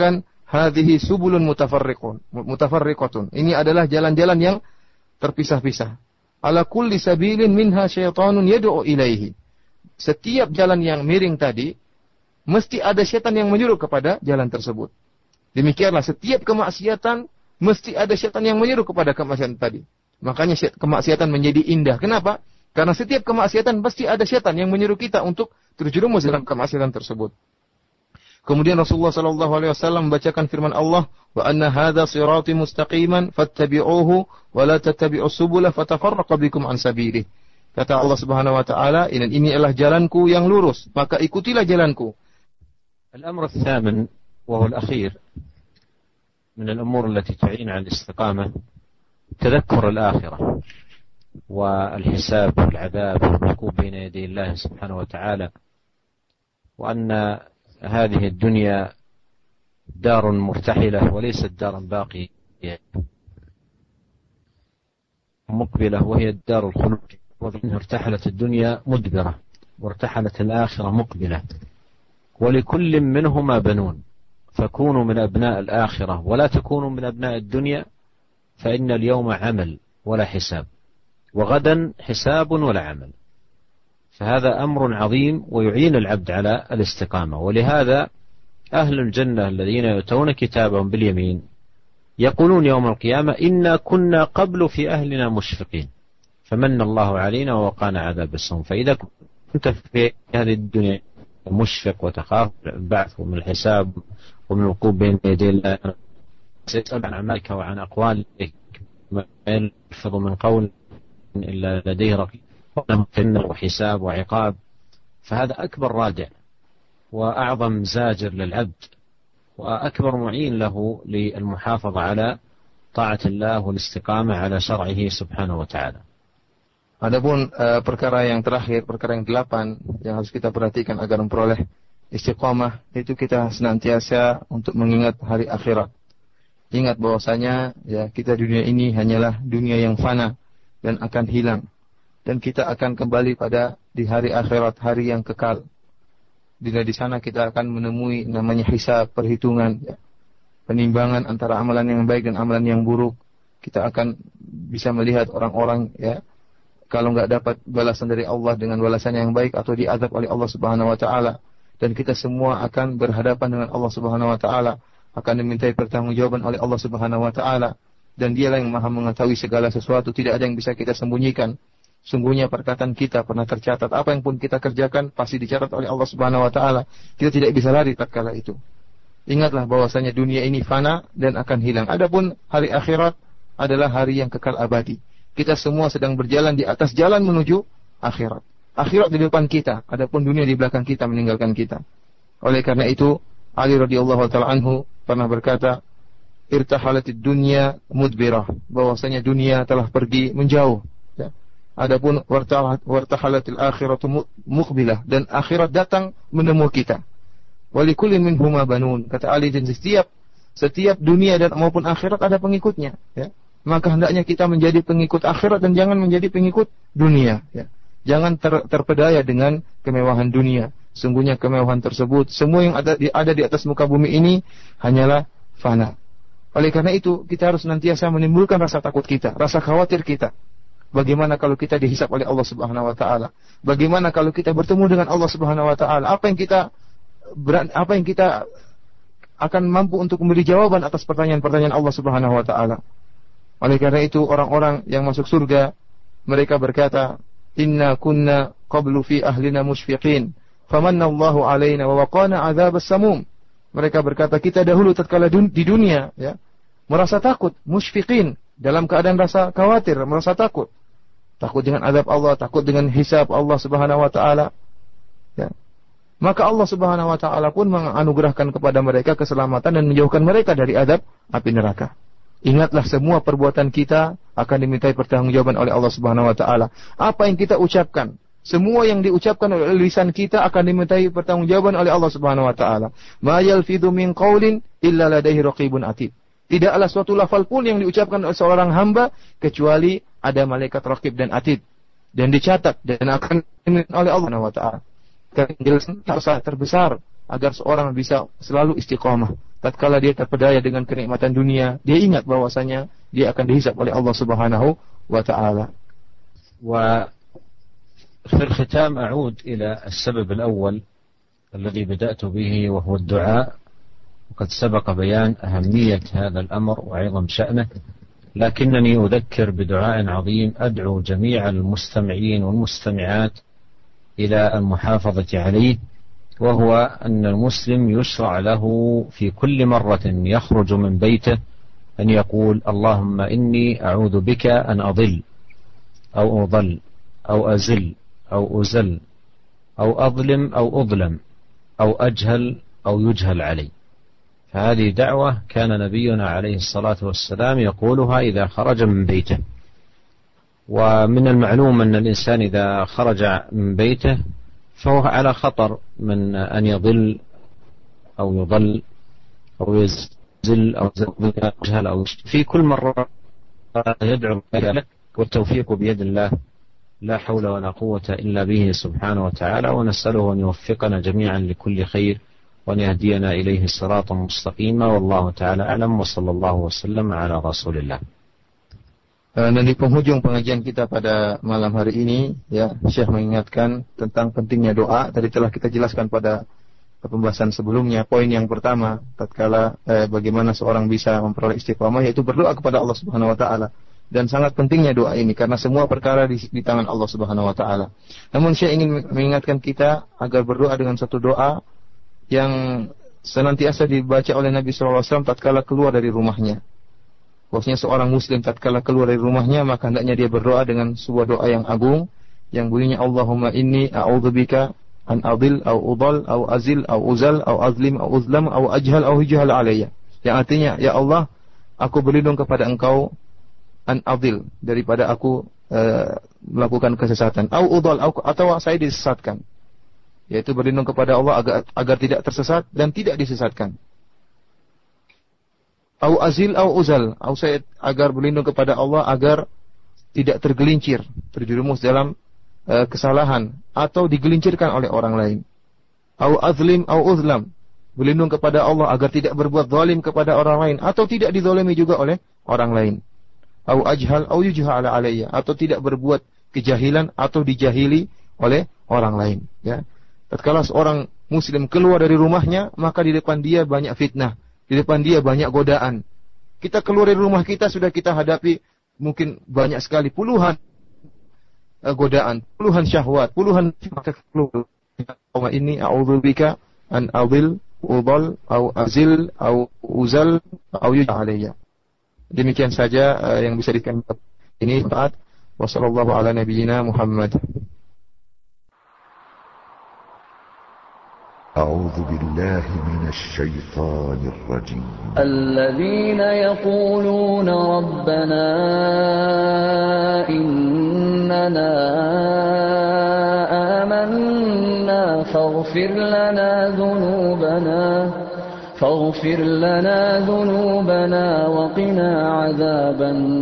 hadhihi subulun mutafarriqun mutafarriqatun. Ini adalah jalan-jalan yang terpisah-pisah. Ala kulli sabilin minha syaitanun yad'u ilaihi. Setiap jalan yang miring tadi mesti ada setan yang menyuruh kepada jalan tersebut. Demikianlah setiap kemaksiatan mesti ada setan yang menyuruh kepada kemaksiatan tadi. Makanya kemaksiatan menjadi indah. Kenapa? Karena setiap kemaksiatan pasti ada setan yang menyuruh kita untuk terjerumus dalam kemaksiatan tersebut. Kemudian Rasulullah sallallahu alaihi wasallam membacakan firman Allah, "Wa anna hadza sirati mustaqiman fattabi'uhu wa la tattabi'us subula fatafarraqa bikum an sabilihi." Kata Allah Subhanahu wa taala, "Ini ini adalah jalanku yang lurus, maka ikutilah jalanku." الأمر الثامن وهو الأخير من الأمور التي تعين على الاستقامة تذكر الآخرة والحساب والعذاب والوقوف بين يدي الله سبحانه وتعالى، وأن هذه الدنيا دار مرتحلة وليست دارا باقية مقبلة، وهي الدار الخلود. وإن ارتحلت الدنيا مدبرة وارتحلت الآخرة مقبلة، ولكل منهما بنون، فكونوا من أبناء الآخرة ولا تكونوا من أبناء الدنيا، فإن اليوم عمل ولا حساب، وغدا حساب ولا عمل. فهذا أمر عظيم ويعين العبد على الاستقامة. ولهذا أهل الجنة الذين يؤتون كتابهم باليمين يقولون يوم القيامة إنا كنا قبل في أهلنا مشفقين فمن الله علينا ووقانا عذاب السموم. فإذا كنت في هذه الدنيا مشفق وتخاف البعث ومن الحساب ومن الوقوف بين يدي الله، سيسأل عن أعمالك وعن أقوالك، ما يلفظ من قول إلا لديه رقيب وحساب وعقاب. فهذا أكبر رادع وأعظم زاجر للعبد وأكبر معين له للمحافظة على طاعة الله والاستقامة على شرعه سبحانه وتعالى. Adapun uh, perkara yang terakhir, perkara yang delapan yang harus kita perhatikan agar memperoleh istiqamah, itu kita senantiasa untuk mengingat hari akhirat. Ingat bahwasanya ya kita dunia ini hanyalah dunia yang fana dan akan hilang, dan kita akan kembali pada di hari akhirat, hari yang kekal. Di di sana kita akan menemui namanya hisab, perhitungan, ya, penimbangan antara amalan yang baik dan amalan yang buruk. Kita akan bisa melihat orang-orang ya kalau nggak dapat balasan dari Allah dengan balasan yang baik atau diazab oleh Allah Subhanahu wa taala, dan kita semua akan berhadapan dengan Allah Subhanahu wa taala, akan dimintai pertanggungjawaban oleh Allah Subhanahu wa taala, dan Dialah yang Maha mengetahui segala sesuatu, tidak ada yang bisa kita sembunyikan. Sungguhnya perkataan kita pernah tercatat, apa yang pun kita kerjakan pasti dicatat oleh Allah Subhanahu wa taala. Kita tidak bisa lari tatkala itu. Ingatlah bahwasanya dunia ini fana dan akan hilang. Adapun hari akhirat adalah hari yang kekal abadi. Kita semua sedang berjalan di atas jalan menuju akhirat. Akhirat di depan kita, adapun dunia di belakang kita meninggalkan kita. Oleh karena itu, Ali radhiyallahu taala anhu pernah berkata, "Irtahalatid dunya mudbirah," bahwasanya dunia telah pergi menjauh. Ya. Adapun wartahalatil akhiratu muqbilah, dan akhirat datang menemui kita. Walikullin minhuma banun, kata Ali, dan setiap setiap dunia dan maupun akhirat ada pengikutnya, ya. Maka hendaknya kita menjadi pengikut akhirat dan jangan menjadi pengikut dunia, ya. Jangan ter, terpedaya dengan kemewahan dunia. Sungguhnya kemewahan tersebut, semua yang ada di, ada di atas muka bumi ini hanyalah fana. Oleh karena itu, kita harus nantiasa menimbulkan rasa takut kita, rasa khawatir kita. Bagaimana kalau kita dihisab oleh Allah Subhanahu wa taala? Bagaimana kalau kita bertemu dengan Allah Subhanahu wa taala? Apa yang kita apa yang kita akan mampu untuk memberi jawaban atas pertanyaan-pertanyaan Allah Subhanahu wa taala? Oleh karena itu, orang-orang yang masuk surga, mereka berkata, "Inna kunna qablu fi ahlina musyfiqin, famanna Allahu alaina wa waqana adzabas samum." Mereka berkata, kita dahulu tatkala dun- di dunia, ya, merasa takut, musyfiqin, dalam keadaan rasa khawatir, merasa takut. Takut dengan azab Allah, takut dengan hisab Allah Subhanahu wa taala. Ya. Maka Allah Subhanahu wa taala pun menganugerahkan kepada mereka keselamatan dan menjauhkan mereka dari azab api neraka. Ingatlah, semua perbuatan kita akan dimintai pertanggungjawaban oleh Allah Subhanahu wa taala. Apa yang kita ucapkan, semua yang diucapkan oleh lisan kita akan dimintai pertanggungjawaban oleh Allah Subhanahu wa taala. Ma yalfidhu min qaulin illa ladaihi raqibun atid. Tidaklah suatu lafal pun yang diucapkan oleh seorang hamba kecuali ada malaikat raqib dan atid, dan dicatat dan akan dimintai oleh Allah Subhanahu wa taala. Penjelasan terbesar agar seorang bisa selalu istiqamah, tatkala dia terpedaya dengan kenikmatan dunia, dia ingat bahwasanya dia akan dihisab oleh Allah Subhanahu wa taala. وفي الختام أعود إلى السبب الأول الذي بدأت به وهو الدعاء، وقد سبق بيان أهمية هذا الأمر وعظم شأنه، لكنني أذكر بدعاء عظيم أدعو جميع المستمعين والمستمعات إلى المحافظة عليه، وهو أن المسلم يشرع له في كل مرة يخرج من بيته أن يقول اللهم إني أعوذ بك أن أضل أو أضل أو أزل أو أزل أو أظلم أو أظلم أو أجهل أو يجهل علي. فهذه دعوة كان نبينا عليه الصلاة والسلام يقولها إذا خرج من بيته. ومن المعلوم أن الإنسان إذا خرج من بيته فهو على خطر من أن يضل أو يضل أو يزل أو يجهل أو في كل مرة يدعو ذلك، والتوفيق بيد الله لا حول ولا قوة إلا به سبحانه وتعالى، ونسأله أن يوفقنا جميعا لكل خير وأن يهدينا إليه صراطا مستقيما، والله تعالى أعلم، وصلى الله وسلم على رسول الله. Dan di penghujung pengajian kita pada malam hari ini, ya, Syekh mengingatkan tentang pentingnya doa. Tadi telah kita jelaskan pada pembahasan sebelumnya. Poin yang pertama, tatkala eh, bagaimana seorang bisa memperoleh istiqamah, yaitu berdoa kepada Allah Subhanahu wa taala. Dan sangat pentingnya doa ini karena semua perkara di, di tangan Allah Subhanahu wa taala. Namun Syekh ingin mengingatkan kita agar berdoa dengan satu doa yang senantiasa dibaca oleh Nabi sallallahu alaihi wasallam tatkala keluar dari rumahnya. Bahwasanya seorang muslim tatkala keluar dari rumahnya maka hendaknya dia berdoa dengan sebuah doa yang agung yang bunyinya Allahumma inni a'udzubika an adil au udal au azil au uzal au azlim au uzlam au ajhal au hujhal alayya. Yang artinya, ya Allah, aku berlindung kepada Engkau an adil, daripada aku uh, melakukan kesesatan, au udal atau saya disesatkan. Yaitu berlindung kepada Allah agar agar tidak tersesat dan tidak disesatkan. Au azil au uzal, au saya agar berlindung kepada Allah agar tidak tergelincir, terjerumus dalam uh, kesalahan atau digelincirkan oleh orang lain. Au azlim au uzlam, berlindung kepada Allah agar tidak berbuat zalim kepada orang lain atau tidak dizalimi juga oleh orang lain. Au ajhal au yujhal alayya, atau tidak berbuat kejahilan atau dijahili oleh orang lain, ya. Tatkala seorang muslim keluar dari rumahnya, maka di depan dia banyak fitnah, di depan dia banyak godaan. Kita keluar dari rumah kita sudah kita hadapi mungkin banyak sekali puluhan uh, godaan, puluhan syahwat, puluhan maka keluar. Wa inni a'udzubika an adil, udal, au azil, au uzal, au yujhal alayya. Demikian saja uh, yang bisa dikatakan ini. Taat. Wassallallahu ala nabiyyina Muhammad. أعوذ بالله من الشيطان الرجيم. الذين يقولون ربنا إننا آمنا فاغفر لنا ذنوبنا فاغفر لنا ذنوبنا وقنا عذاب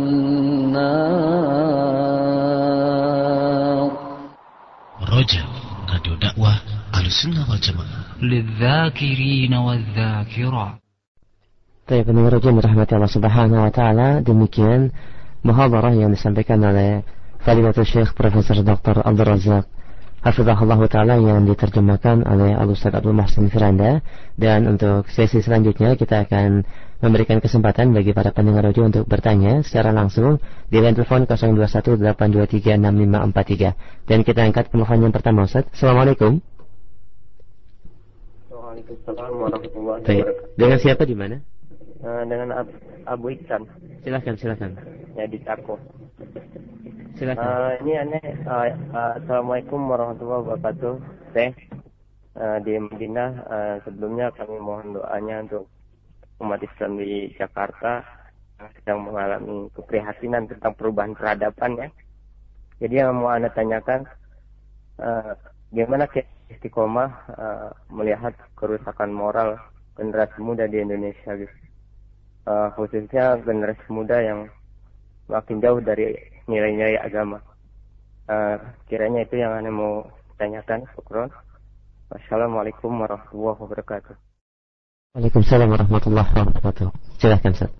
النار. رجاء راديو دعوة Ahlussunnah wal Jamaah للذاكرين والذاكرات. Baik, pendengar yang dirahmati Allah Subhanahu wa taala, demikian muhadarah yang disampaikan oleh Fadilatul Syekh Profesor Doktor Abdul Razak Hafizahullah taala yang diterjemahkan oleh Al-Ustaz Abdul Muhsin Firanda. Dan untuk sesi selanjutnya kita akan memberikan kesempatan bagi para pendengar radio untuk bertanya secara langsung di line telepon nol dua satu delapan dua tiga enam lima empat tiga. Dan kita angkat telepon yang pertama, Ustaz. Assalamualaikum. Waalaikumsalam warahmatullahi Baik. wabarakatuh. Dengan siapa di mana? Uh, dengan Ab- Abu Iksan. Silakan, silakan. Ya, di Tako. Silakan. Uh, ini aneh. Uh, uh, Assalamualaikum warahmatullahi wabarakatuh. Teh uh, di Madinah. Uh, sebelumnya kami mohon doanya untuk umat Islam di Jakarta yang sedang mengalami keprihatinan tentang perubahan peradaban, ya. Jadi yang mau anda tanyakan, uh, gimana istiqomah uh, melihat kerusakan moral generasi muda di Indonesia, gitu. Uh, khususnya generasi muda yang makin jauh dari nilai-nilai agama. Uh, kiranya itu yang anda mau tanyakan. Syukron. Wassalamualaikum warahmatullahi wabarakatuh. Waalaikumsalam warahmatullahi wabarakatuh. Silakan Ustaz.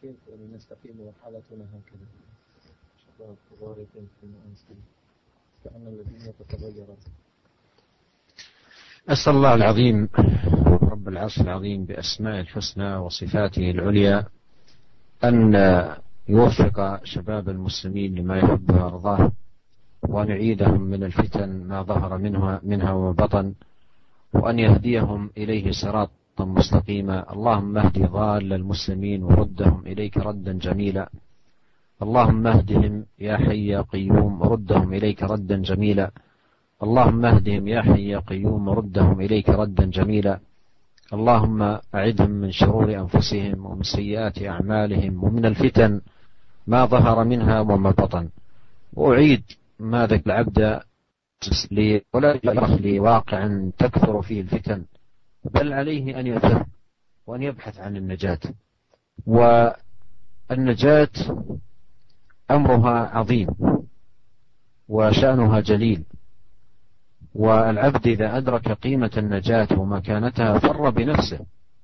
أسأل الله العظيم رب العرش العظيم بأسماء الحسنى وصفاته العليا أن يوفق شباب المسلمين لما يحب ويرضاه، وأن يعيدهم من الفتن ما ظهر منها, منها وما بطن، وأن يهديهم إليه صراطا مستقيما. اللهم اهد ضال المسلمين وردهم إليك ردا جميلا. اللهم اهدهم يا حي يا قيوم ردهم إليك ردا جميلا. اللهم اهدهم يا حي يا قيوم ردهم إليك ردا جميلا. اللهم أعدهم من شرور أنفسهم ومن سيئات أعمالهم ومن الفتن ما ظهر منها وما بطن. وأعيد ما ذاك العبد ولا يرخ لواقع تكثر فيه الفتن، بل عليه أن يفهم وأن يبحث عن النجاة. والنجاة أمرها عظيم وشأنها جليل، والعبد إذا أدرك قيمة النجاة ومكانتها فر بنفسه.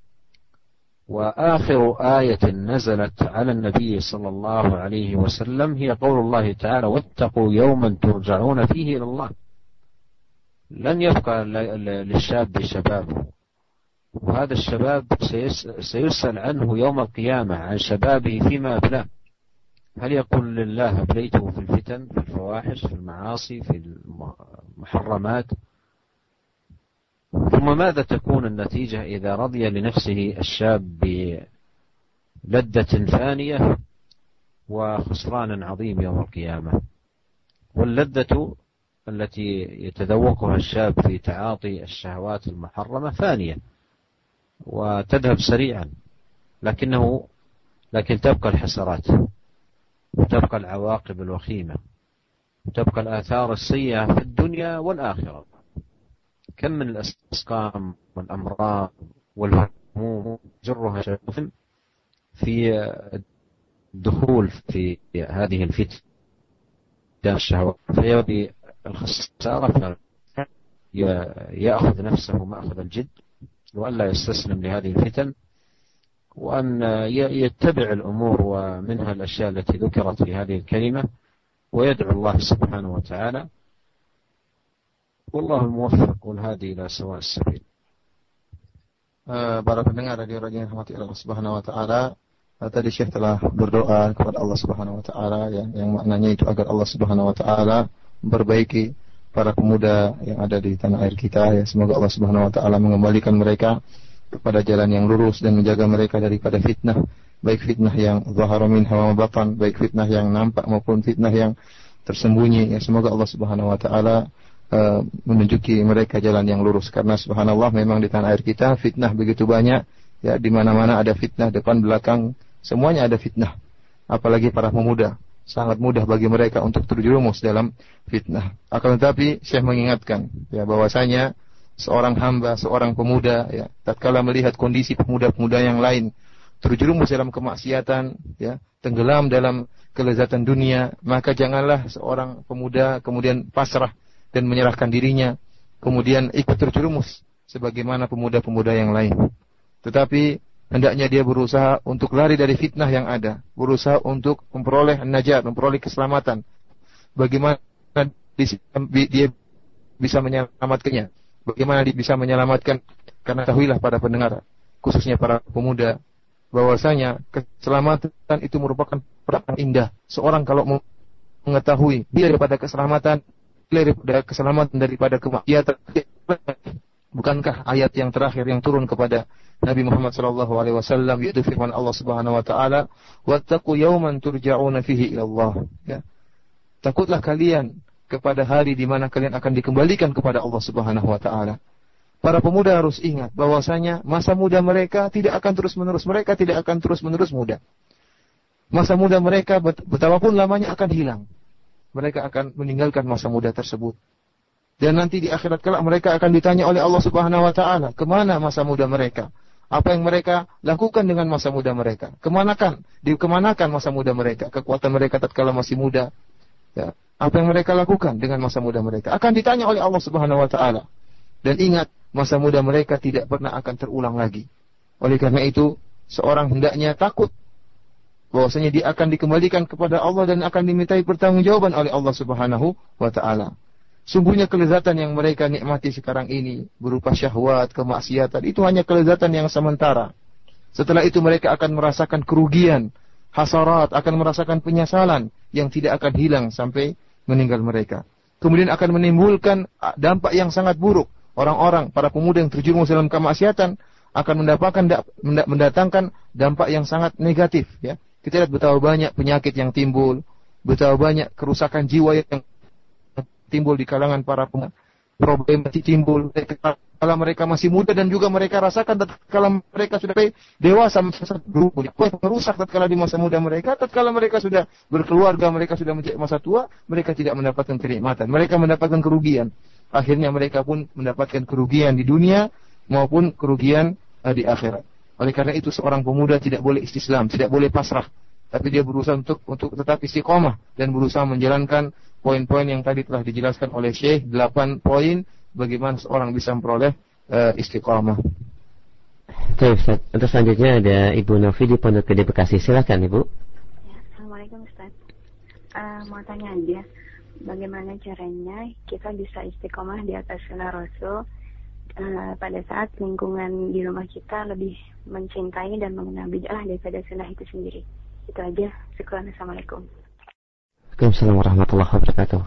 وآخر آية نزلت على النبي صلى الله عليه وسلم هي قول الله تعالى: واتقوا يوما ترجعون فيه إلى الله. لن يبقى للشاب شبابه، وهذا الشباب سيسأل عنه يوم القيامة عن شبابه فيما أبلاه. هل يقول لله أبليته في الفتن، في الفواحش، في المعاصي، في المحرمات؟ ثم ماذا تكون النتيجة إذا رضي لنفسه الشاب بلذة فانية وخسران عظيم يوم القيامة؟ واللذة التي يتذوقها الشاب في تعاطي الشهوات المحرمة فانية وتذهب سريعا، لكنه لكن تبقى الحسرات وتبقى العواقب الوخيمة وتبقى الآثار السيئة في الدنيا والآخرة. كم من الأسقام والأمراض والهموم جرها شباب في الدخول في هذه الفتنة الشهوات، فيبدي الخسارة يأخذ نفسه مأخذ الجد، وأن لا يستسلم لهذه الفتن، وأن يتبع الأمور ومنها الأشياء التي ذكرت في هذه الكلمة، ويدعو الله سبحانه وتعالى، والله الموفق والهادي إلى سواء السبيل. Para pendengar radio Raja yang dirahmati Allah Subhanahu wa taala, tadi Syekh telah berdoa kepada Allah Subhanahu wa taala yang, yang maknanya itu agar Allah Subhanahu wa taala memperbaiki para pemuda yang ada di tanah air kita, ya. Semoga Allah Subhanahu wa taala mengembalikan mereka kepada jalan yang lurus dan menjaga mereka daripada fitnah, baik fitnah yang zahara minha wa batan, baik fitnah yang nampak maupun fitnah yang tersembunyi, ya. Semoga Allah Subhanahu wa taala uh, menunjuki mereka jalan yang lurus, karena subhanallah memang di tanah air kita fitnah begitu banyak, ya. Di mana-mana ada fitnah, depan belakang semuanya ada fitnah. Apalagi para pemuda, sangat mudah bagi mereka untuk terjerumus dalam fitnah. Akan tetapi Syekh mengingatkan, ya, bahwasanya seorang hamba, seorang pemuda, ya, tatkala melihat kondisi pemuda-pemuda yang lain terjerumus dalam kemaksiatan, ya, tenggelam dalam kelezatan dunia, maka janganlah seorang pemuda kemudian pasrah dan menyerahkan dirinya, kemudian ikut terjerumus sebagaimana pemuda-pemuda yang lain. Tetapi hendaknya dia berusaha untuk lari dari fitnah yang ada, berusaha untuk memperoleh najat, memperoleh keselamatan. Bagaimana dia bisa menyelamatkannya? Bagaimana dia bisa menyelamatkan? Karena tahuilah para pendengar, khususnya para pemuda, bahwasanya keselamatan itu merupakan perkara indah. Seorang kalau mengetahui dia daripada keselamatan, daripada keselamatan daripada kemaksiatan, bukankah ayat yang terakhir yang turun kepada Nabi Muhammad sallallahu alaihi wasallam, yaitu firman Allah Subhanahu wa taala, "Wattaqu yawman turja'una fihi ila Allah." Ya. Takutlah kalian kepada hari di mana kalian akan dikembalikan kepada Allah Subhanahu wa taala. Para pemuda harus ingat bahwasanya masa muda mereka tidak akan terus-menerus, mereka tidak akan terus-menerus muda. Masa muda mereka betapapun lamanya akan hilang. Mereka akan meninggalkan masa muda tersebut. Dan nanti di akhirat kelak mereka akan ditanya oleh Allah Subhanahu wa taala, kemana masa muda mereka? Apa yang mereka lakukan dengan masa muda mereka? Kemanakan? Dikemanakan masa muda mereka? Kekuatan mereka tatkala masih muda. Ya. Apa yang mereka lakukan dengan masa muda mereka? Akan ditanya oleh Allah Subhanahu wa taala. Dan ingat, masa muda mereka tidak pernah akan terulang lagi. Oleh karena itu, seorang hendaknya takut bahwasanya dia akan dikembalikan kepada Allah dan akan dimintai pertanggungjawaban oleh Allah Subhanahu wa taala. Sungguhnya kelezatan yang mereka nikmati sekarang ini berupa syahwat, kemaksiatan, itu hanya kelezatan yang sementara. Setelah itu mereka akan merasakan kerugian, hasarat, akan merasakan penyesalan yang tidak akan hilang sampai meninggal mereka. Kemudian akan menimbulkan dampak yang sangat buruk. Orang-orang, para pemuda yang terjerumus dalam kemaksiatan akan mendapatkan mendatangkan dampak yang sangat negatif, ya. Kita lihat betapa banyak penyakit yang timbul, betapa banyak kerusakan jiwa yang timbul di kalangan para pemuda. Problem yang timbul kalau mereka masih muda dan juga mereka rasakan tatkala mereka sudah dewasa masa dulu, merusak tatkala di masa muda mereka, tatkala mereka sudah berkeluarga, mereka sudah menjadi masa tua, mereka tidak mendapatkan kenikmatan, mereka mendapatkan kerugian. Akhirnya mereka pun mendapatkan kerugian di dunia maupun kerugian uh, di akhirat. Oleh karena itu seorang pemuda tidak boleh istislam, tidak boleh pasrah, tapi dia berusaha untuk untuk tetap istiqomah dan berusaha menjalankan poin-poin yang tadi telah dijelaskan oleh Syekh, delapan poin bagaimana seorang bisa memperoleh uh, istiqomah. Baik, Ustaz. Untuk selanjutnya ada Ibu Novi di Pondok Gede Bekasi. Silakan, Ibu. Ya, Assalamualaikum, Ustaz. Uh, mau tanya aja, bagaimana caranya kita bisa istiqomah di atas sunnah Rasul uh, pada saat lingkungan di rumah kita lebih mencintai dan mengenal bid'ah daripada sunnah itu sendiri. Itu aja. Syukran. Assalamualaikum. Waalaikumsalam warahmatullahi wabarakatuh.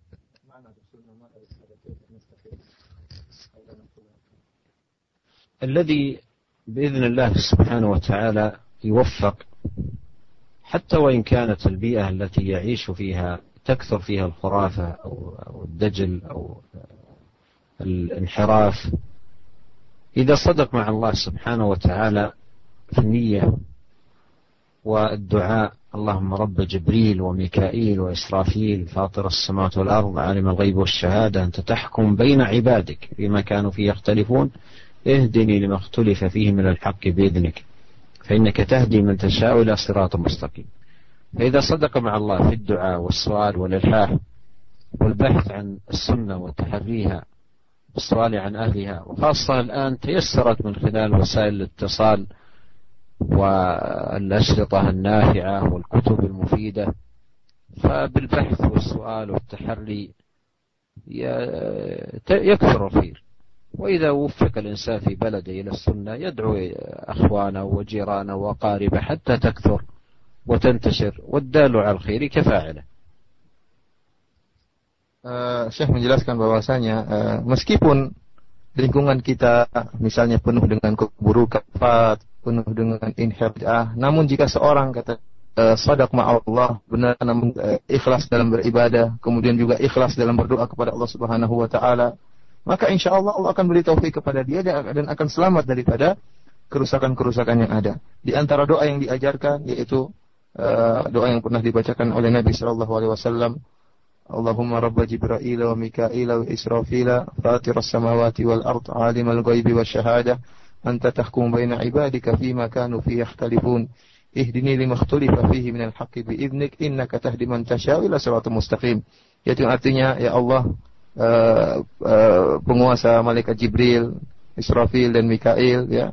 الذي بإذن الله سبحانه وتعالى يوفق حتى وإن كانت البيئة التي يعيش فيها تكثر فيها الخرافة أو الدجل أو الانحراف، إذا صدق مع الله سبحانه وتعالى في النية والدعاء، اللهم رب جبريل وميكائيل وإسرافيل فاطر السماوات والأرض عالم الغيب والشهادة أنت تحكم بين عبادك فيما كانوا فيه يختلفون اهدني لما اختلف فيه من الحق بإذنك فإنك تهدي من تشاء إلى صراط مستقيم. فإذا صدق مع الله في الدعاء والسؤال والإلحاح والبحث عن السنة وتحريها والسؤال عن أهلها، وخاصة الآن تيسرت من خلال وسائل الاتصال والأشرطة النافعة والكتب المفيدة، فبالبحث والسؤال والتحري يكثر الخير. وإذا وفق الإنسان في بلده إلى السنة يدعو أخوانه وجيرانه وقاربه حتى تكثر وتنتشر، والدال على الخير كفاعله. Uh, Syekh menjelaskan bahwasanya uh, meskipun lingkungan kita misalnya penuh dengan keburukan, penuh dengan inhiraf, namun jika seorang kata uh, shadaq ma'allah, benar namun uh, ikhlas dalam beribadah, kemudian juga ikhlas dalam berdoa kepada Allah Subhanahu wa taala, maka insya Allah Allah akan beri taufik kepada dia dan akan selamat daripada kerusakan-kerusakan yang ada. Di antara doa yang diajarkan yaitu uh, doa yang pernah dibacakan oleh Nabi sallallahu alaihi wasallam, Allahumma rabba Jibril wa Mikail wa Israfil fatiras samawati wal ard alimal ghaibi wasyahadah anta tahkum baina ibadika fima kanu fihi yakhtalifun ihdini lima ikhtalafa fihi minal haqqi bi idnik innaka tahdi man tasya' ila siratal mustaqim. Yaitu artinya, ya Allah, Uh, uh, penguasa malaikat Jibril, Israfil dan Mikail, ya,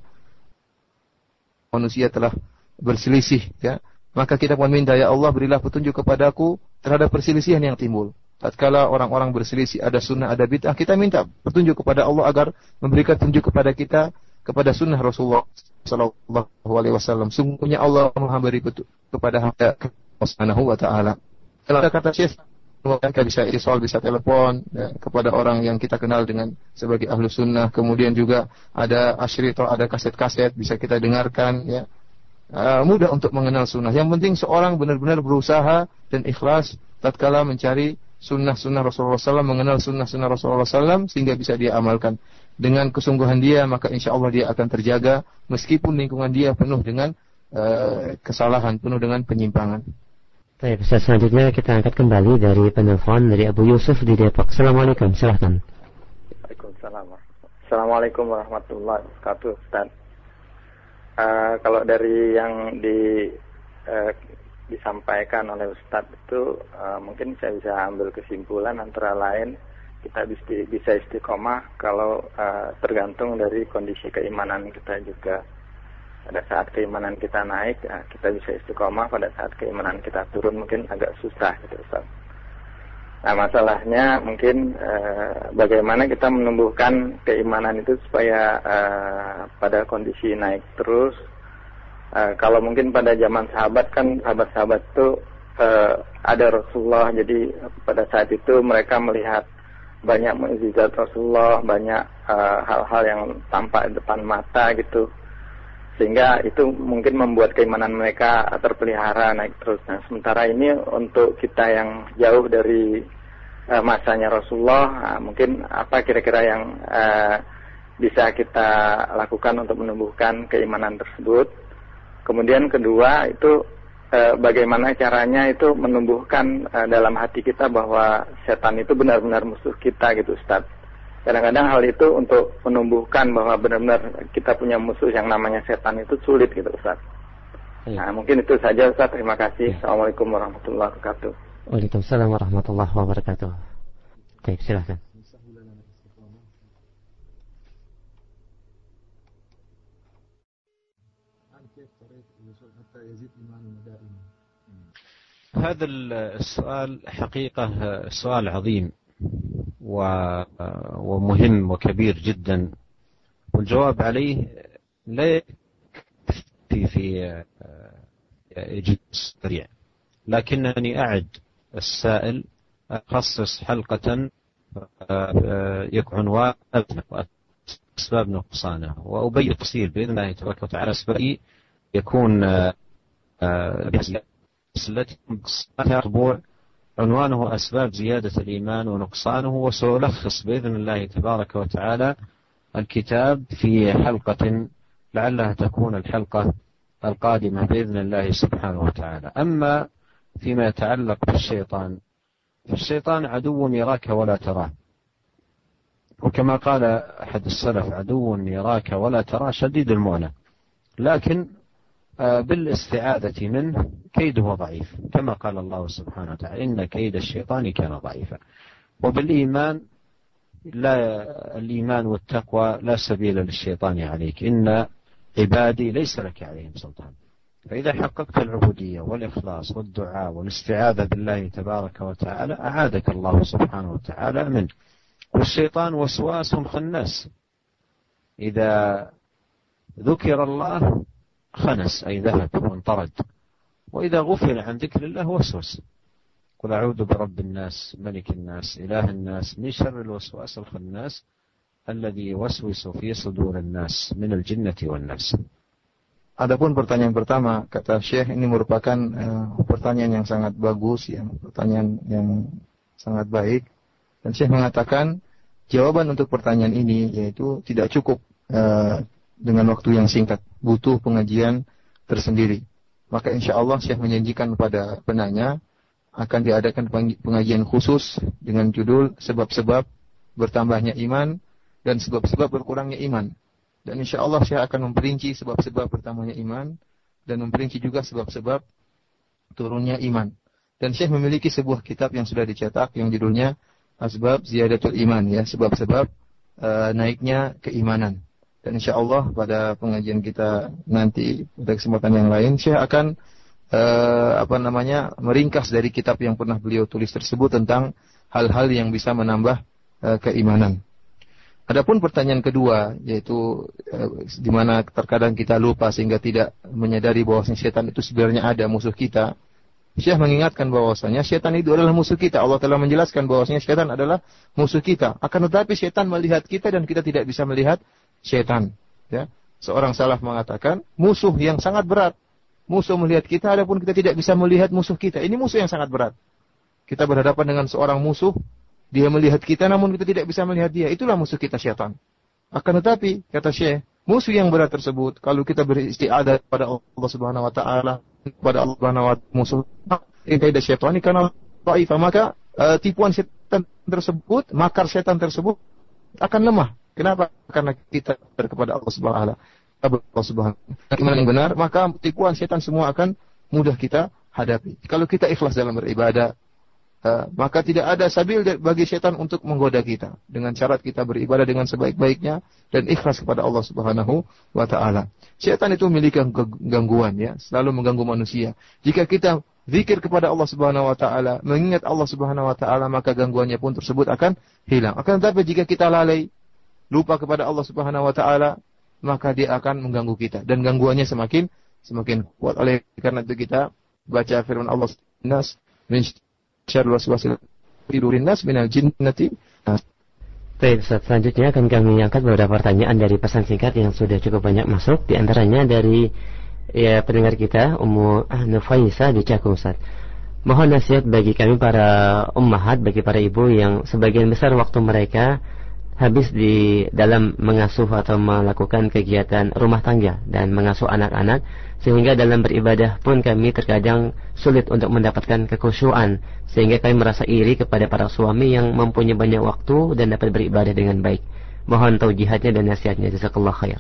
manusia telah berselisih, ya, maka kita pun minta, ya Allah, berilah petunjuk kepadaku terhadap perselisihan yang timbul. Tatkala orang-orang berselisih, ada sunnah, ada bid'ah, kita minta petunjuk kepada Allah agar memberikan petunjuk kepada kita kepada sunnah Rasulullah sallallahu alaihi wasallam. Sungguhnya Allah memberi petunjuk kepada hamba Subhanahu wa taala. Kalau kata Syekh, kita bisa isol, bisa telepon, ya, kepada orang yang kita kenal dengan sebagai ahlu sunnah. Kemudian juga ada asyrito, ada kaset-kaset bisa kita dengarkan, ya. Uh, mudah untuk mengenal sunnah. Yang penting seorang benar-benar berusaha dan ikhlas tatkala mencari sunnah-sunnah Rasulullah sallallahu alaihi wasallam, mengenal sunnah-sunnah Rasulullah sallallahu alaihi wasallam sehingga bisa dia amalkan. Dengan kesungguhan dia, maka insya Allah dia akan terjaga meskipun lingkungan dia penuh dengan uh, kesalahan, penuh dengan penyimpangan. Baik, Ustaz, selanjutnya kita angkat kembali dari penelpon dari Abu Yusuf di Depok. Assalamualaikum, silahkan. Waalaikumsalam. Assalamualaikum warahmatullahi wabarakatuh, Ustaz. Uh, kalau dari yang di, uh, disampaikan oleh Ustaz itu, uh, mungkin saya bisa ambil kesimpulan antara lain kita bisa istiqomah kalau uh, tergantung dari kondisi keimanan kita juga. pada saat keimanan kita naik, ya, kita bisa istiqomah. Pada saat keimanan kita turun mungkin agak susah gitu Ustaz. Nah masalahnya mungkin uh, bagaimana kita menumbuhkan keimanan itu supaya uh, pada kondisi naik terus. Uh, kalau mungkin pada zaman sahabat kan sahabat-sahabat itu uh, ada Rasulullah, jadi pada saat itu mereka melihat banyak mukjizat Rasulullah, banyak uh, hal-hal yang tampak di depan mata gitu, sehingga itu mungkin membuat keimanan mereka terpelihara naik terus. Nah sementara ini untuk kita yang jauh dari uh, masanya Rasulullah, uh, mungkin apa kira-kira yang uh, bisa kita lakukan untuk menumbuhkan keimanan tersebut. Kemudian kedua itu uh, bagaimana caranya itu menumbuhkan uh, dalam hati kita bahwa setan itu benar-benar musuh kita gitu Ustaz. Kadang-kadang hal itu untuk menumbuhkan bahwa benar-benar kita punya musuh yang namanya setan itu sulit gitu Ustaz. Ya. Nah mungkin itu saja Ustaz, terima kasih. Ya. Assalamualaikum warahmatullahi wabarakatuh. Waalaikumsalam warahmatullahi wabarakatuh. Baik, silakan. هذا السؤال حقيقة سؤال عظيم ومهم وكبير جدا، والجواب عليه لا يكفي في إجابة سريع، لكنني أعد السائل أخصص حلقة يكون أسباب نقصانه وأبين تفصيل بإذن الله تبارك وتعالى أسباب يكون التي أسبوع عنوانه أسباب زيادة الإيمان ونقصانه، وسألخص بإذن الله تبارك وتعالى الكتاب في حلقة لعلها تكون الحلقة القادمة بإذن الله سبحانه وتعالى. أما فيما يتعلق بالشيطان، فالشيطان عدو يراك ولا تراه، وكما قال أحد السلف عدو يراك ولا تراه شديد المؤنة، لكن بالاستعاذة منه كيده ضعيف، كما قال الله سبحانه وتعالى إن كيد الشيطان كان ضعيفا. وبالإيمان لا الإيمان والتقوى لا سبيل للشيطان عليك، إن عبادي ليس لك عليهم سلطان. فإذا حققت العبودية والإخلاص والدعاء والاستعاذة بالله تبارك وتعالى أعادك الله سبحانه وتعالى منه. والشيطان وسواس خناس، إذا ذكر الله خنس أي ذهب وانطرد، وإذا غفل عن ذكر الله وسوس. قل أعوذ برب الناس ملك الناس إله الناس من شر الوسواس الخناس الذي يوسوس في صدور الناس من الجنة والناس. Adapun pertanyaan pertama, kata Syekh, ini merupakan uh, pertanyaan yang sangat bagus, ya, pertanyaan yang sangat baik. Dan Syekh mengatakan jawaban untuk pertanyaan ini yaitu tidak cukup uh, dengan waktu yang singkat, butuh pengajian tersendiri. Maka insya Allah Syekh menjanjikan kepada penanya akan diadakan pengajian khusus dengan judul sebab-sebab bertambahnya iman dan sebab-sebab berkurangnya iman. Dan insya Allah Syekh akan memperinci sebab-sebab bertambahnya iman dan memperinci juga sebab-sebab turunnya iman. Dan Syekh memiliki sebuah kitab yang sudah dicetak yang judulnya Asbab Ziyadatul Iman, ya, sebab-sebab uh, naiknya keimanan. Dan insya Allah pada pengajian kita nanti pada kesempatan yang lain Syekh akan uh, apa namanya meringkas dari kitab yang pernah beliau tulis tersebut tentang hal-hal yang bisa menambah uh, keimanan. Adapun pertanyaan kedua, yaitu uh, di mana terkadang kita lupa sehingga tidak menyadari bahwasanya setan itu sebenarnya ada musuh kita. Syekh mengingatkan bahwasanya setan itu adalah musuh kita. Allah telah menjelaskan bahwasanya setan adalah musuh kita. Akan tetapi setan melihat kita dan kita tidak bisa melihat setan. Ya. Seorang salaf mengatakan musuh yang sangat berat. Musuh melihat kita, adapun kita tidak bisa melihat musuh kita. Ini musuh yang sangat berat. Kita berhadapan dengan seorang musuh, dia melihat kita namun kita tidak bisa melihat dia. Itulah musuh kita setan. Akan tetapi kata Syekh, musuh yang berat tersebut kalau kita beristiadah kepada Allah Subhanahu wa taala, kepada Allah Subhanahu wa taala, musuh kaidah syaitan ini karena dhaif, maka uh, tipuan setan tersebut, makar setan tersebut akan lemah. Kenapa? Karena kita kepada Allah Subhanahu wa taala. Allah Subhanahu wa taala yang benar, maka tipuan setan semua akan mudah kita hadapi. Kalau kita ikhlas dalam beribadah, Uh, maka tidak ada sabil bagi setan untuk menggoda kita dengan syarat kita beribadah dengan sebaik-baiknya dan ikhlas kepada Allah Subhanahu wa taala. Setan itu memiliki gangguan ya, selalu mengganggu manusia. Jika kita zikir kepada Allah Subhanahu wa taala, mengingat Allah Subhanahu wa taala, maka gangguannya pun tersebut akan hilang. Akan tetapi jika kita lalai, lupa kepada Allah Subhanahu wa taala, maka dia akan mengganggu kita dan gangguannya semakin semakin kuat. Oleh karena itu kita baca firman Allah Nas min syarril waswasil fidurin nas minal jinnati. Baik, selanjutnya akan kami angkat beberapa pertanyaan dari pesan singkat yang sudah cukup banyak masuk. Di antaranya dari ya, pendengar kita Ummu Nufaisa di Cakung, Ustaz. Mohon nasihat bagi kami para ummahat, bagi para ibu yang sebagian besar waktu mereka habis di dalam mengasuh atau melakukan kegiatan rumah tangga dan mengasuh anak-anak, sehingga dalam beribadah pun kami terkadang sulit untuk mendapatkan kekhusyuan, sehingga kami merasa iri kepada para suami yang mempunyai banyak waktu dan dapat beribadah dengan baik. Mohon taujihatnya dan nasihatnya. Jazakallah khair.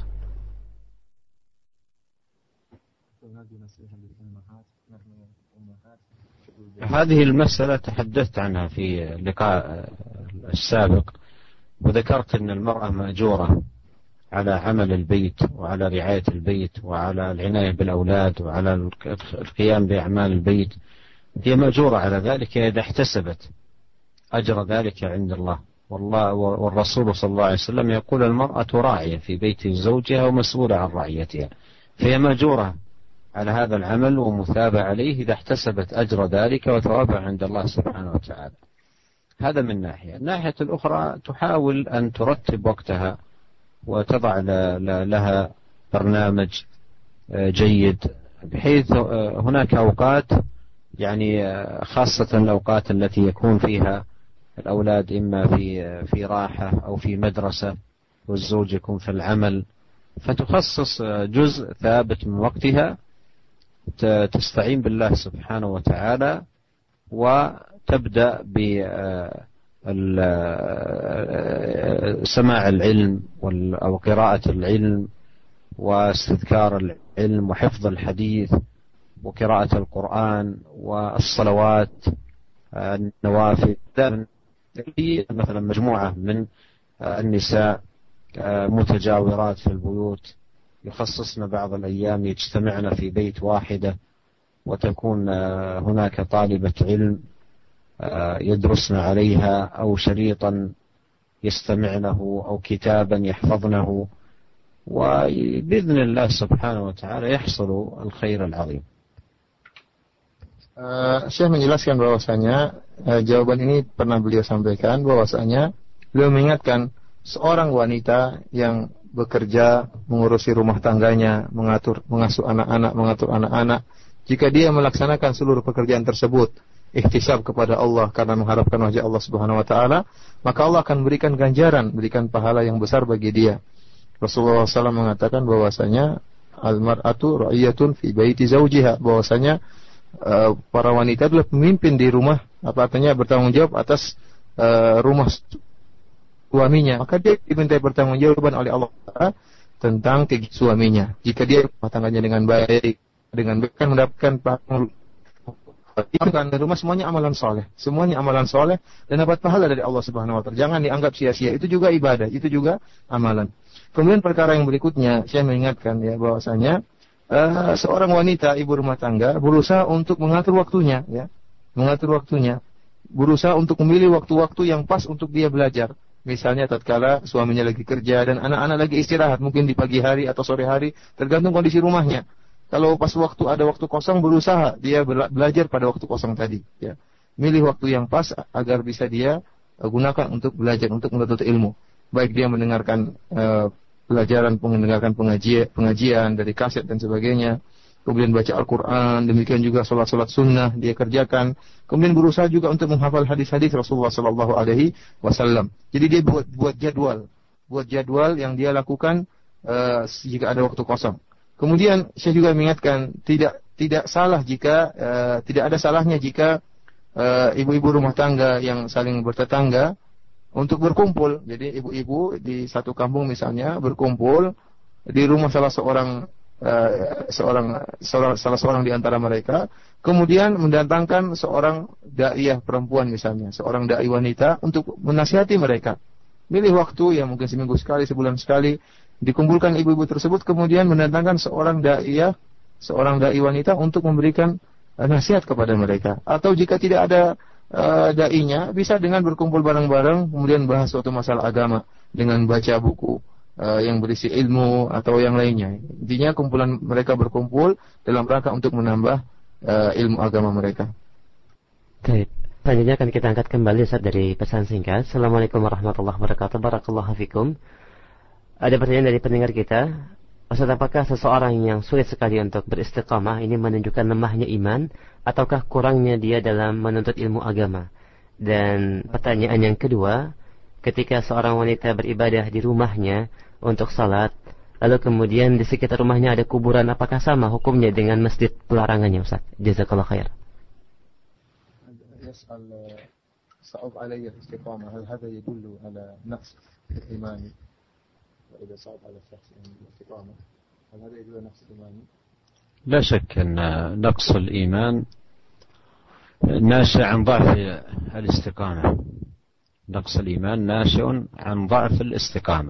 هذه المسألة تحدثت عنها في اللقاء السابق، وذكرت أن المرأة مأجورة على عمل البيت وعلى رعاية البيت وعلى العناية بالأولاد وعلى القيام بأعمال البيت. هي مأجورة على ذلك إذا احتسبت أجر ذلك عند الله. والله والرسول صلى الله عليه وسلم يقول المرأة راعية في بيت زوجها ومسؤولة عن رعيتها، فهي مأجورة على هذا العمل ومثابة عليه إذا احتسبت أجر ذلك وثوابها عند الله سبحانه وتعالى. هذا من ناحية. الناحية الأخرى تحاول أن ترتب وقتها وتضع لها برنامج جيد، بحيث هناك أوقات يعني خاصة الأوقات التي يكون فيها الأولاد إما في في راحة أو في مدرسة والزوج يكون في العمل، فتخصص جزء ثابت من وقتها تستعين بالله سبحانه وتعالى وتبدأ بسماع العلم أو قراءة العلم واستذكار العلم وحفظ الحديث وقراءة القرآن والصلوات النوافل. مثلا مجموعة من النساء متجاورات في البيوت يخصصن بعض الأيام يجتمعن في بيت واحدة، وتكون هناك طالبة علم يدرسن عليها أو شريطا يستمعنه أو كتابا يحفظنه، وبإذن الله سبحانه وتعالى يحصل الخير العظيم. Uh, Syekh menjelaskan bahwasanya uh, jawaban ini pernah beliau sampaikan, bahwasanya beliau mengingatkan seorang wanita yang bekerja mengurusi rumah tangganya, mengatur, mengasuh anak-anak, mengatur anak-anak, jika dia melaksanakan seluruh pekerjaan tersebut ihtisab kepada Allah karena mengharapkan wajah Allah Subhanahu wa taala, maka Allah akan berikan ganjaran, berikan pahala yang besar bagi dia. Rasulullah shallallahu alaihi wasallam mengatakan bahwasanya al-mar'atu ra'iyatun fi baiti zawjiha, bahwasanya uh, para wanita adalah pemimpin di rumah, apa artinya bertanggung jawab atas uh, rumah suaminya, maka dia dimintai pertanggungjawaban oleh Allah tentang kegiatan suaminya. Jika dia rumah tangganya dengan baik, dengan baik akan mendapatkan pahala di rumah, semuanya amalan soleh, semuanya amalan soleh dan dapat pahala dari Allah Subhanahu wa taala. Jangan dianggap sia-sia, itu juga ibadah, itu juga amalan. Kemudian perkara yang berikutnya, saya mengingatkan ya bahwasanya uh, seorang wanita ibu rumah tangga berusaha untuk mengatur waktunya, ya, mengatur waktunya, berusaha untuk memilih waktu-waktu yang pas untuk dia belajar. Misalnya tatkala suaminya lagi kerja dan anak-anak lagi istirahat, mungkin di pagi hari atau sore hari, tergantung kondisi rumahnya. Kalau pas waktu ada waktu kosong, berusaha dia belajar pada waktu kosong tadi, ya. Milih waktu yang pas agar bisa dia gunakan untuk belajar, untuk menuntut ilmu. Baik dia mendengarkan uh, pelajaran, mendengarkan pengajian, pengajian dari kaset dan sebagainya, kemudian baca Al-Quran, demikian juga sholat-sholat sunnah dia kerjakan, kemudian berusaha juga untuk menghafal hadis-hadis Rasulullah Sallallahu Alaihi Wasallam. Jadi dia buat buat jadwal, buat jadwal yang dia lakukan uh, jika ada waktu kosong. Kemudian saya juga mengingatkan tidak tidak salah jika uh, tidak ada salahnya jika uh, ibu-ibu rumah tangga yang saling bertetangga untuk berkumpul. Jadi ibu-ibu di satu kampung misalnya berkumpul di rumah salah seorang uh, seorang, seorang salah seorang di antara mereka, kemudian mendatangkan seorang daiyah perempuan misalnya, seorang dai wanita untuk menasihati mereka. Pilih waktu yang mungkin seminggu sekali, sebulan sekali, dikumpulkan ibu-ibu tersebut, kemudian mendatangkan seorang daiyah, seorang dai wanita untuk memberikan uh, nasihat kepada mereka. Atau jika tidak ada uh, dainya, bisa dengan berkumpul bareng-bareng, kemudian bahas suatu masalah agama dengan baca buku Uh, yang berisi ilmu atau yang lainnya. Intinya kumpulan mereka berkumpul dalam rangka untuk menambah uh, ilmu agama mereka. Baik. Selanjutnya akan kita angkat kembali Ustaz dari pesan singkat. Assalamualaikum warahmatullahi wabarakatuh. Barakallahu fikum. Ada pertanyaan dari pendengar kita. Ustaz, apakah seseorang yang sulit sekali untuk beristiqamah ini menunjukkan lemahnya iman ataukah kurangnya dia dalam menuntut ilmu agama? Dan pertanyaan yang kedua, ketika seorang wanita beribadah di rumahnya untuk salat, lalu kemudian di sekitar rumahnya ada kuburan, apakah sama hukumnya dengan masjid pelarangannya Ustaz? Jazakallah khair. يسأل صعب علي الاستقامة هل هذا يدل على نقص الإيمان وإذا صعب على الشخص الاستقامة هل هذا يدل على نقص الإيمان؟ لا شك أن نقص الإيمان ناشئ عن ضعف الاستقامة. نقص الإيمان ناشئ عن ضعف الاستقامة،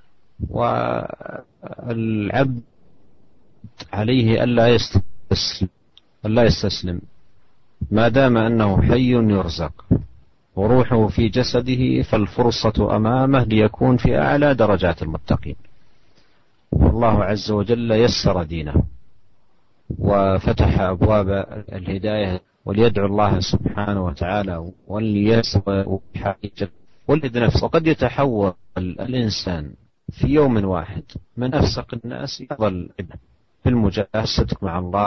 والعبد عليه ألا يستسلم ألا يستسلم ما دام أنه حي يرزق وروحه في جسده، فالفرصة أمامه ليكون في أعلى درجات المتقين. والله عز وجل يسر دينه وفتح أبواب الهداية، وليدعو الله سبحانه وتعالى وليسر ولد نفسه. وقد يتحول الإنسان في يوم واحد من أفسق الناس يظل في المجاهدة مع الله.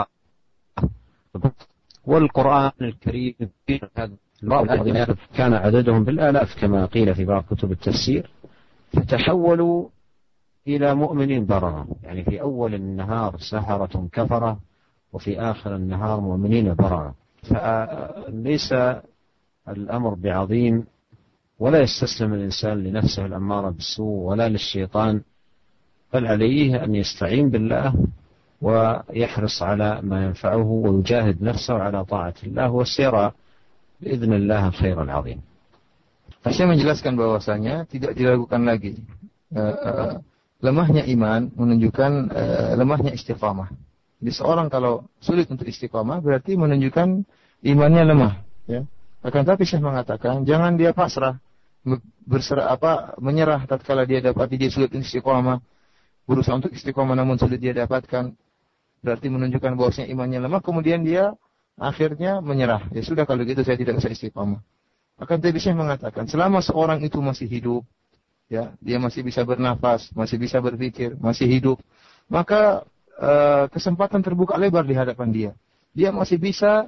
والقرآن الكريم كان عددهم بالآلاف كما قيل في بعض كتب التفسير، فتحولوا إلى مؤمنين بررة، يعني في أول النهار سحرة كفرة وفي آخر النهار مؤمنين بررة. فليس الأمر بعظيم، ولا يستسلم الإنسان لنفسه الأمارة بالسوء ولا للشيطان، بل عليه أن يستعين بالله ويحرص على ما ينفعه ويجاهد نفسه على طاعة الله وسيرى بإذن الله الخير العظيم. Saya menjelaskan bahwasanya tidak diragukan lagi uh, uh, lemahnya iman menunjukkan uh, lemahnya istiqamah. Jadi seorang kalau sulit untuk istiqamah berarti menunjukkan imannya lemah, ya. Akan tapi saya mengatakan jangan dia pasrah, berserah apa menyerah tatkala dia dapati dia sulit untuk istiqamah, berusaha untuk istiqamah namun sulit dia dapatkan, berarti menunjukkan bahwasanya imannya lemah, kemudian dia akhirnya menyerah. Ya sudah, kalau gitu saya tidak bisa istiqamah. Akan tapi saya mengatakan selama seorang itu masih hidup, ya, dia masih bisa bernafas, masih bisa berpikir, masih hidup, maka uh, kesempatan terbuka lebar di hadapan dia. Dia masih bisa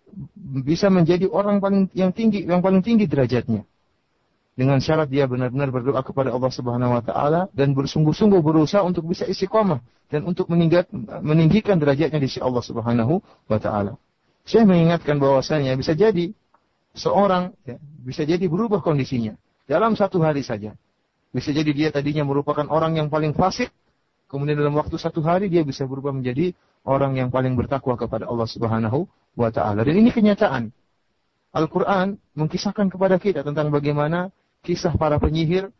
bisa menjadi orang paling yang tinggi, yang paling tinggi derajatnya. Dengan syarat dia benar-benar berdoa kepada Allah Subhanahu wa taala dan bersungguh-sungguh berusaha untuk bisa istiqamah dan untuk meninggikan derajatnya di sisi Allah Subhanahu wa taala. Saya mengingatkan bahwasanya bisa jadi seorang ya, bisa jadi berubah kondisinya dalam satu hari saja. Bisa jadi dia tadinya merupakan orang yang paling fasik, kemudian dalam waktu satu hari dia bisa berubah menjadi orang yang paling bertakwa kepada Allah Subhanahu wa taala. Dan ini kenyataan. Al-Quran mengkisahkan kepada kita tentang bagaimana kisah para penyihir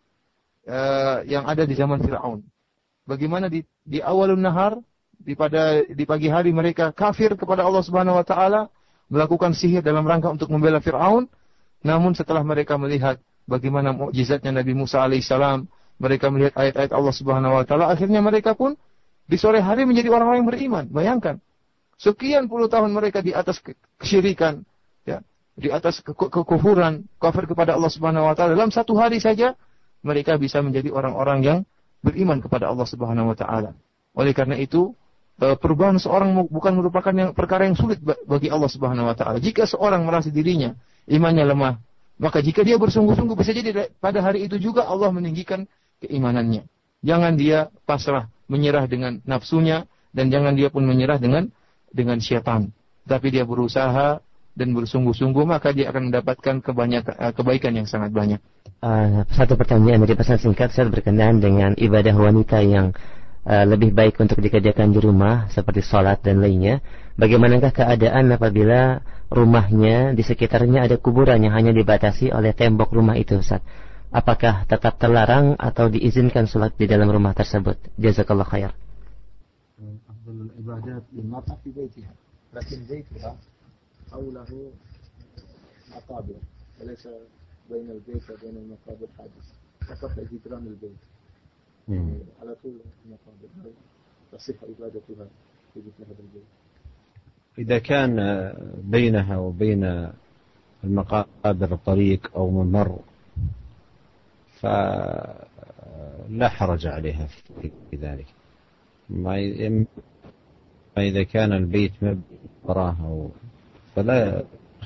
uh, yang ada di zaman Fir'aun. Bagaimana di, di awalun nahar, di pada di pagi hari mereka kafir kepada Allah Subhanahu wa taala, melakukan sihir dalam rangka untuk membela Fir'aun. Namun setelah mereka melihat bagaimana mukjizatnya Nabi Musa alaihissalam, mereka melihat ayat-ayat Allah Subhanahu wa taala, akhirnya mereka pun di sore hari menjadi orang-orang yang beriman. Bayangkan, sekian puluh tahun mereka di atas kesyirikan, ya, di atas ke- ke- kekufuran, kafir kepada Allah Subhanahu wa taala. Dalam satu hari saja mereka bisa menjadi orang-orang yang beriman kepada Allah Subhanahu wa taala. Oleh karena itu, perubahan seorang bukan merupakan yang perkara yang sulit bagi Allah Subhanahu wa taala. Jika seorang merasa dirinya imannya lemah, maka jika dia bersungguh-sungguh bisa jadi pada hari itu juga Allah meninggikan keimanannya. Jangan dia pasrah, menyerah dengan nafsunya, dan jangan dia pun menyerah dengan dengan syaitan. Tapi dia berusaha dan bersungguh-sungguh, maka dia akan mendapatkan kebanyakan kebaikan yang sangat banyak. Uh, satu pertanyaan dari pesan singkat, saya berkenaan dengan ibadah wanita yang uh, lebih baik untuk dikerjakan di rumah seperti sholat dan lainnya. Bagaimanakah keadaan apabila rumahnya di sekitarnya ada kuburan yang hanya dibatasi oleh tembok rumah itu, Ustaz? Apakah tetap terlarang atau diizinkan sholat di dalam rumah tersebut? Jazakallah khair. Afdalul ibadat lilmar'a fi baitiha, lakin baituha hawlahu maqabir, walaysa bainal bait wa bainal maqabir hadis. Faqat jidran al-bait. Ala tul maqabir. تصح عبادتها في مثل هذا البيت. إذا كان بينها وبين المقابر طريق أو ممر فلا حرج عليها في ذلك. ما إذا كان البيت وراها فلا.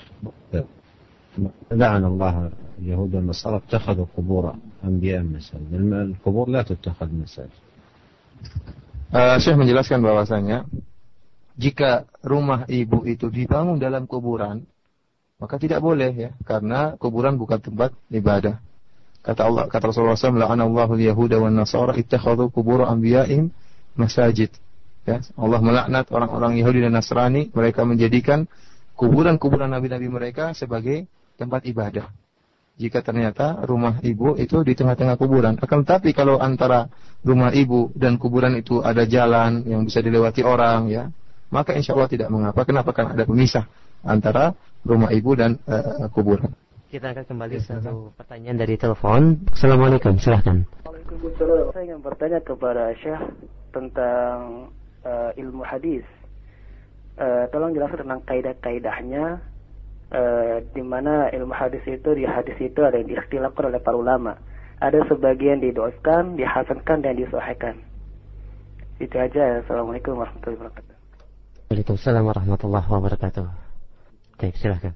لعن الله اليهود والنصارى اتخذوا قبور أنبياء مساجد. القبور لا تتخذ مساجد. Uh, Syekh menjelaskan bahwasanya jika rumah ibu itu dibangun dalam kuburan, maka tidak boleh ya, karena kuburan bukan tempat ibadah. Kata Allah, kata Rasulullah shallallahu alaihi wasallam, "La'anallahu al-yahuda wan nasara ittakhadhu qubur anbiya'ihim masajid." Ya, Allah melaknat orang-orang Yahudi dan Nasrani, mereka menjadikan kuburan-kuburan nabi-nabi mereka sebagai tempat ibadah. Jika ternyata rumah ibu itu di tengah-tengah kuburan, akan tetapi kalau antara rumah ibu dan kuburan itu ada jalan yang bisa dilewati orang, ya, maka insya Allah tidak mengapa. Kenapa? Karena ada pemisah antara rumah ibu dan uh, kuburan. Kita akan kembali ya, satu pertanyaan dari telepon. Assalamualaikum, silahkan. Waalaikumsalam. Saya ingin bertanya kepada Syekh tentang uh, ilmu hadis. Uh, tolong jelaskan tentang kaidah-kaidahnya. Uh, di mana ilmu hadis itu, di hadis itu ada yang diikhtilafkan oleh para ulama. Ada sebagian didoakan, dihasankan dan disahihkan. Itu aja. Assalamualaikum warahmatullahi wabarakatuh. Waalaikumsalam warahmatullahi wabarakatuh. Baik, silakan.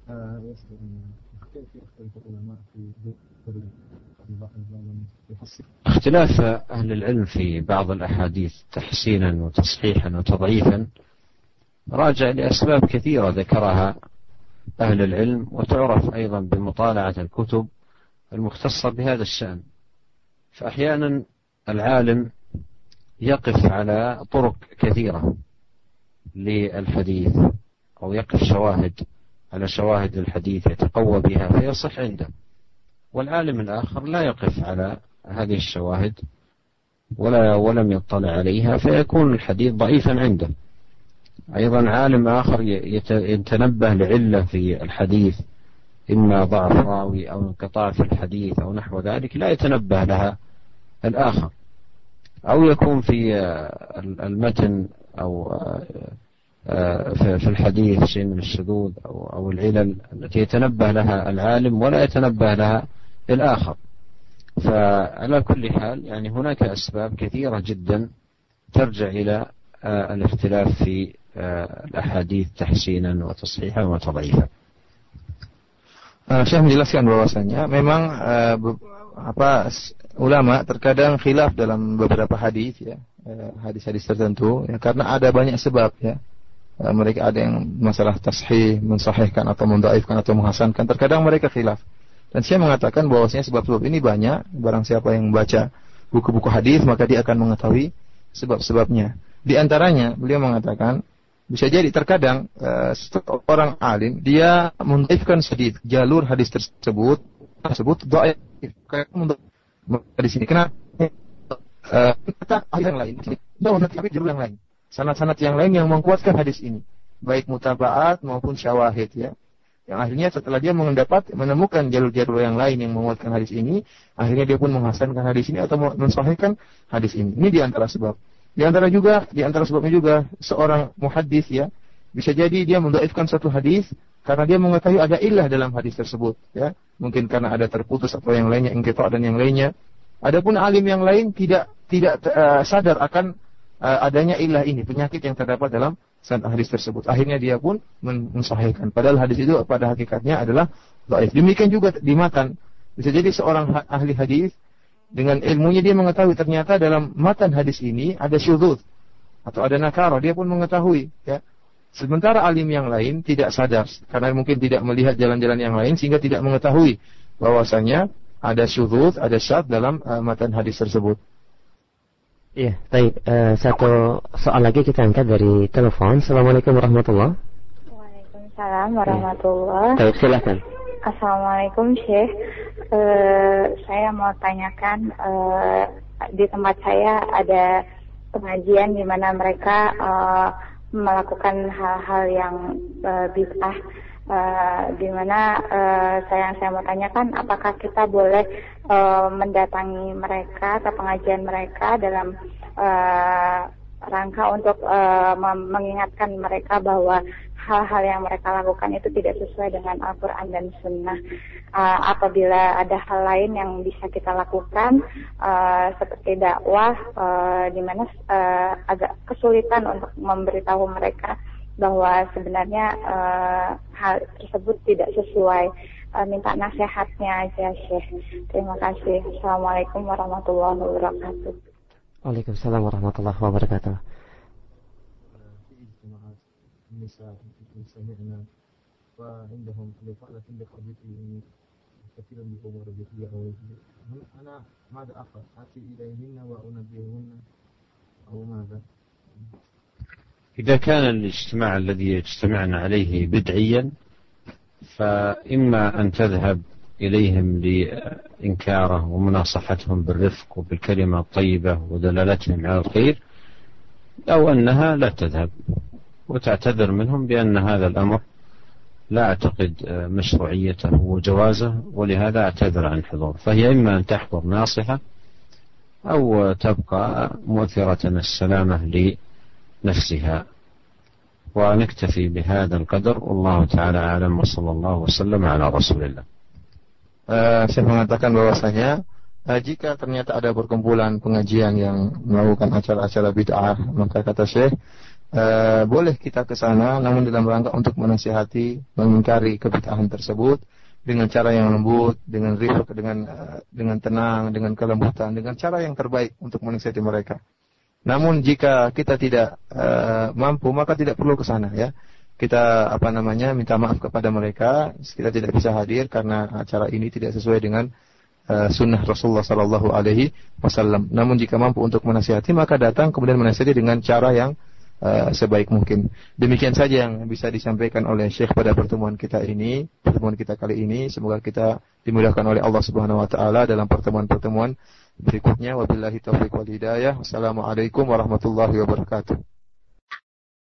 اختلاف أهل العلم في بعض الأحاديث تحسينا وتصحيحا وتضعيفا راجع لأسباب كثيرة ذكرها أهل العلم، وتعرف أيضا بمطالعة الكتب المختصة بهذا الشأن. فأحيانا العالم يقف على طرق كثيرة للحديث أو يقف شواهد على شواهد الحديث يتقوى بها فيصح عنده، والعالم الآخر لا يقف على هذه الشواهد ولا ولم يطلع عليها فيكون الحديث ضعيفا عنده. أيضا عالم آخر يتنبه لعلة في الحديث، إما ضعف راوي أو انقطاع في الحديث أو نحو ذلك، لا يتنبه لها الآخر. أو يكون في المتن أو في الحديث شيء من الشذوذ أو العلل التي يتنبه لها العالم ولا يتنبه لها الآخر. فعلى كل حال يعني هناك أسباب كثيرة جدا ترجع إلى الاختلاف في الأحاديث تحسينا وتصحيحا وتضعيفا. Syekh menjelaskan bahwasanya memang uh, be- apa ulama terkadang khilaf dalam beberapa hadis ya, uh, hadis-hadis tertentu ya, karena ada banyak sebab ya. Uh, mereka ada yang masalah tashih, mensahihkan atau mendhaifkan atau menghasankan, terkadang mereka khilaf. Dan saya mengatakan bahwasanya sebab-sebab ini banyak, barang siapa yang membaca buku-buku hadis maka dia akan mengetahui sebab-sebabnya. Di antaranya beliau mengatakan bisa jadi terkadang uh, seorang alim dia mendhaifkan sedikit jalur hadis tersebut tersebut dhaif kayak di sini kenapa uh, yang lain tapi jalur yang lain sanad-sanad yang lain yang menguatkan hadis ini baik mutabaat maupun syawahid ya, yang akhirnya setelah dia mendapat menemukan jalur-jalur yang lain yang menguatkan hadis ini, akhirnya dia pun menghasankan hadis ini atau mensahihkan hadis ini. Ini di antara sebab. Di antara juga, di antara sebabnya juga seorang muhaddis ya, bisa jadi dia mendhaifkan satu hadis karena dia mengetahui ada illah dalam hadis tersebut ya. Mungkin karena ada terputus atau yang lainnya, inqita' dan yang lainnya. Adapun alim yang lain tidak tidak uh, sadar akan uh, adanya illah ini, penyakit yang terdapat dalam sanad hadis tersebut. Akhirnya dia pun mensahihkan. Padahal hadis itu pada hakikatnya adalah dhaif. Demikian juga di matan. Bisa jadi seorang ahli hadis dengan ilmunya dia mengetahui ternyata dalam matan hadis ini ada syudzuz atau ada nakara, dia pun mengetahui ya. Sementara alim yang lain tidak sadar karena mungkin tidak melihat jalan-jalan yang lain sehingga tidak mengetahui bahwasanya ada syudzuz, ada syadz dalam uh, matan hadis tersebut. Iya, baik. Uh, satu soal lagi kita angkat dari telepon. Assalamualaikum warahmatullahi wabarakatuh. Waalaikumsalam warahmatullahi wabarakatuh. Baik, silakan. Assalamualaikum Syekh. Uh, saya mau tanyakan, uh, di tempat saya ada pengajian di mana mereka uh, melakukan hal-hal yang uh, bid'ah. Uh, di mana uh, saya saya mau tanyakan, apakah kita boleh uh, mendatangi mereka atau pengajian mereka dalam uh, rangka untuk uh, mengingatkan mereka bahwa hal-hal yang mereka lakukan itu tidak sesuai dengan Al-Quran dan Sunnah. Uh, apabila ada hal lain yang bisa kita lakukan, uh, seperti dakwah, uh, di mana uh, agak kesulitan untuk memberitahu mereka bahwa sebenarnya uh, hal tersebut tidak sesuai. Uh, minta nasihatnya aja, Syekh. Terima kasih. Assalamualaikum warahmatullahi wabarakatuh. Waalaikumsalam warahmatullahi wabarakatuh. إذا كان الاجتماع الذي يجتمعن عليه بدعيا فإما أن تذهب إليهم لإنكاره ومناصحتهم بالرفق وبالكلمة الطيبة ودلالتهم على الخير، أو أنها لا تذهب وتعتذر منهم بأن هذا الأمر لا أعتقد مشروعيته وجوازه، ولهذا أعتذر عن الحضور. فهي إما أن تحضر ناصحة أو تبقى مؤثرة السلامة لنفسها. ونكتفي بهذا القدر والله تعالى أعلم وصلى الله وسلم على رسول الله. Uh, saya mengatakan bahwasanya uh, jika ternyata ada perkumpulan pengajian yang melakukan acara-acara bid'ah, maka kata Syekh, uh, boleh kita ke sana namun dalam rangka untuk menasihati, mengingkari kebid'ahan tersebut dengan cara yang lembut, dengan rifq, dengan uh, dengan tenang, dengan kelembutan, dengan cara yang terbaik untuk menasihati mereka. Namun jika kita tidak uh, mampu, maka tidak perlu ke sana, ya. Kita apa namanya minta maaf kepada mereka, kita tidak bisa hadir karena acara ini tidak sesuai dengan uh, sunnah Rasulullah Sallallahu Alaihi Wasallam. Namun jika mampu untuk menasihati, maka datang kemudian menasihati dengan cara yang uh, sebaik mungkin. Demikian saja yang bisa disampaikan oleh Syekh pada pertemuan kita ini, pertemuan kita kali ini. Semoga kita dimudahkan oleh Allah Subhanahu Wa Taala dalam pertemuan-pertemuan berikutnya. Wabillahi taufiq wal hidayah. Wassalamualaikum warahmatullahi wabarakatuh.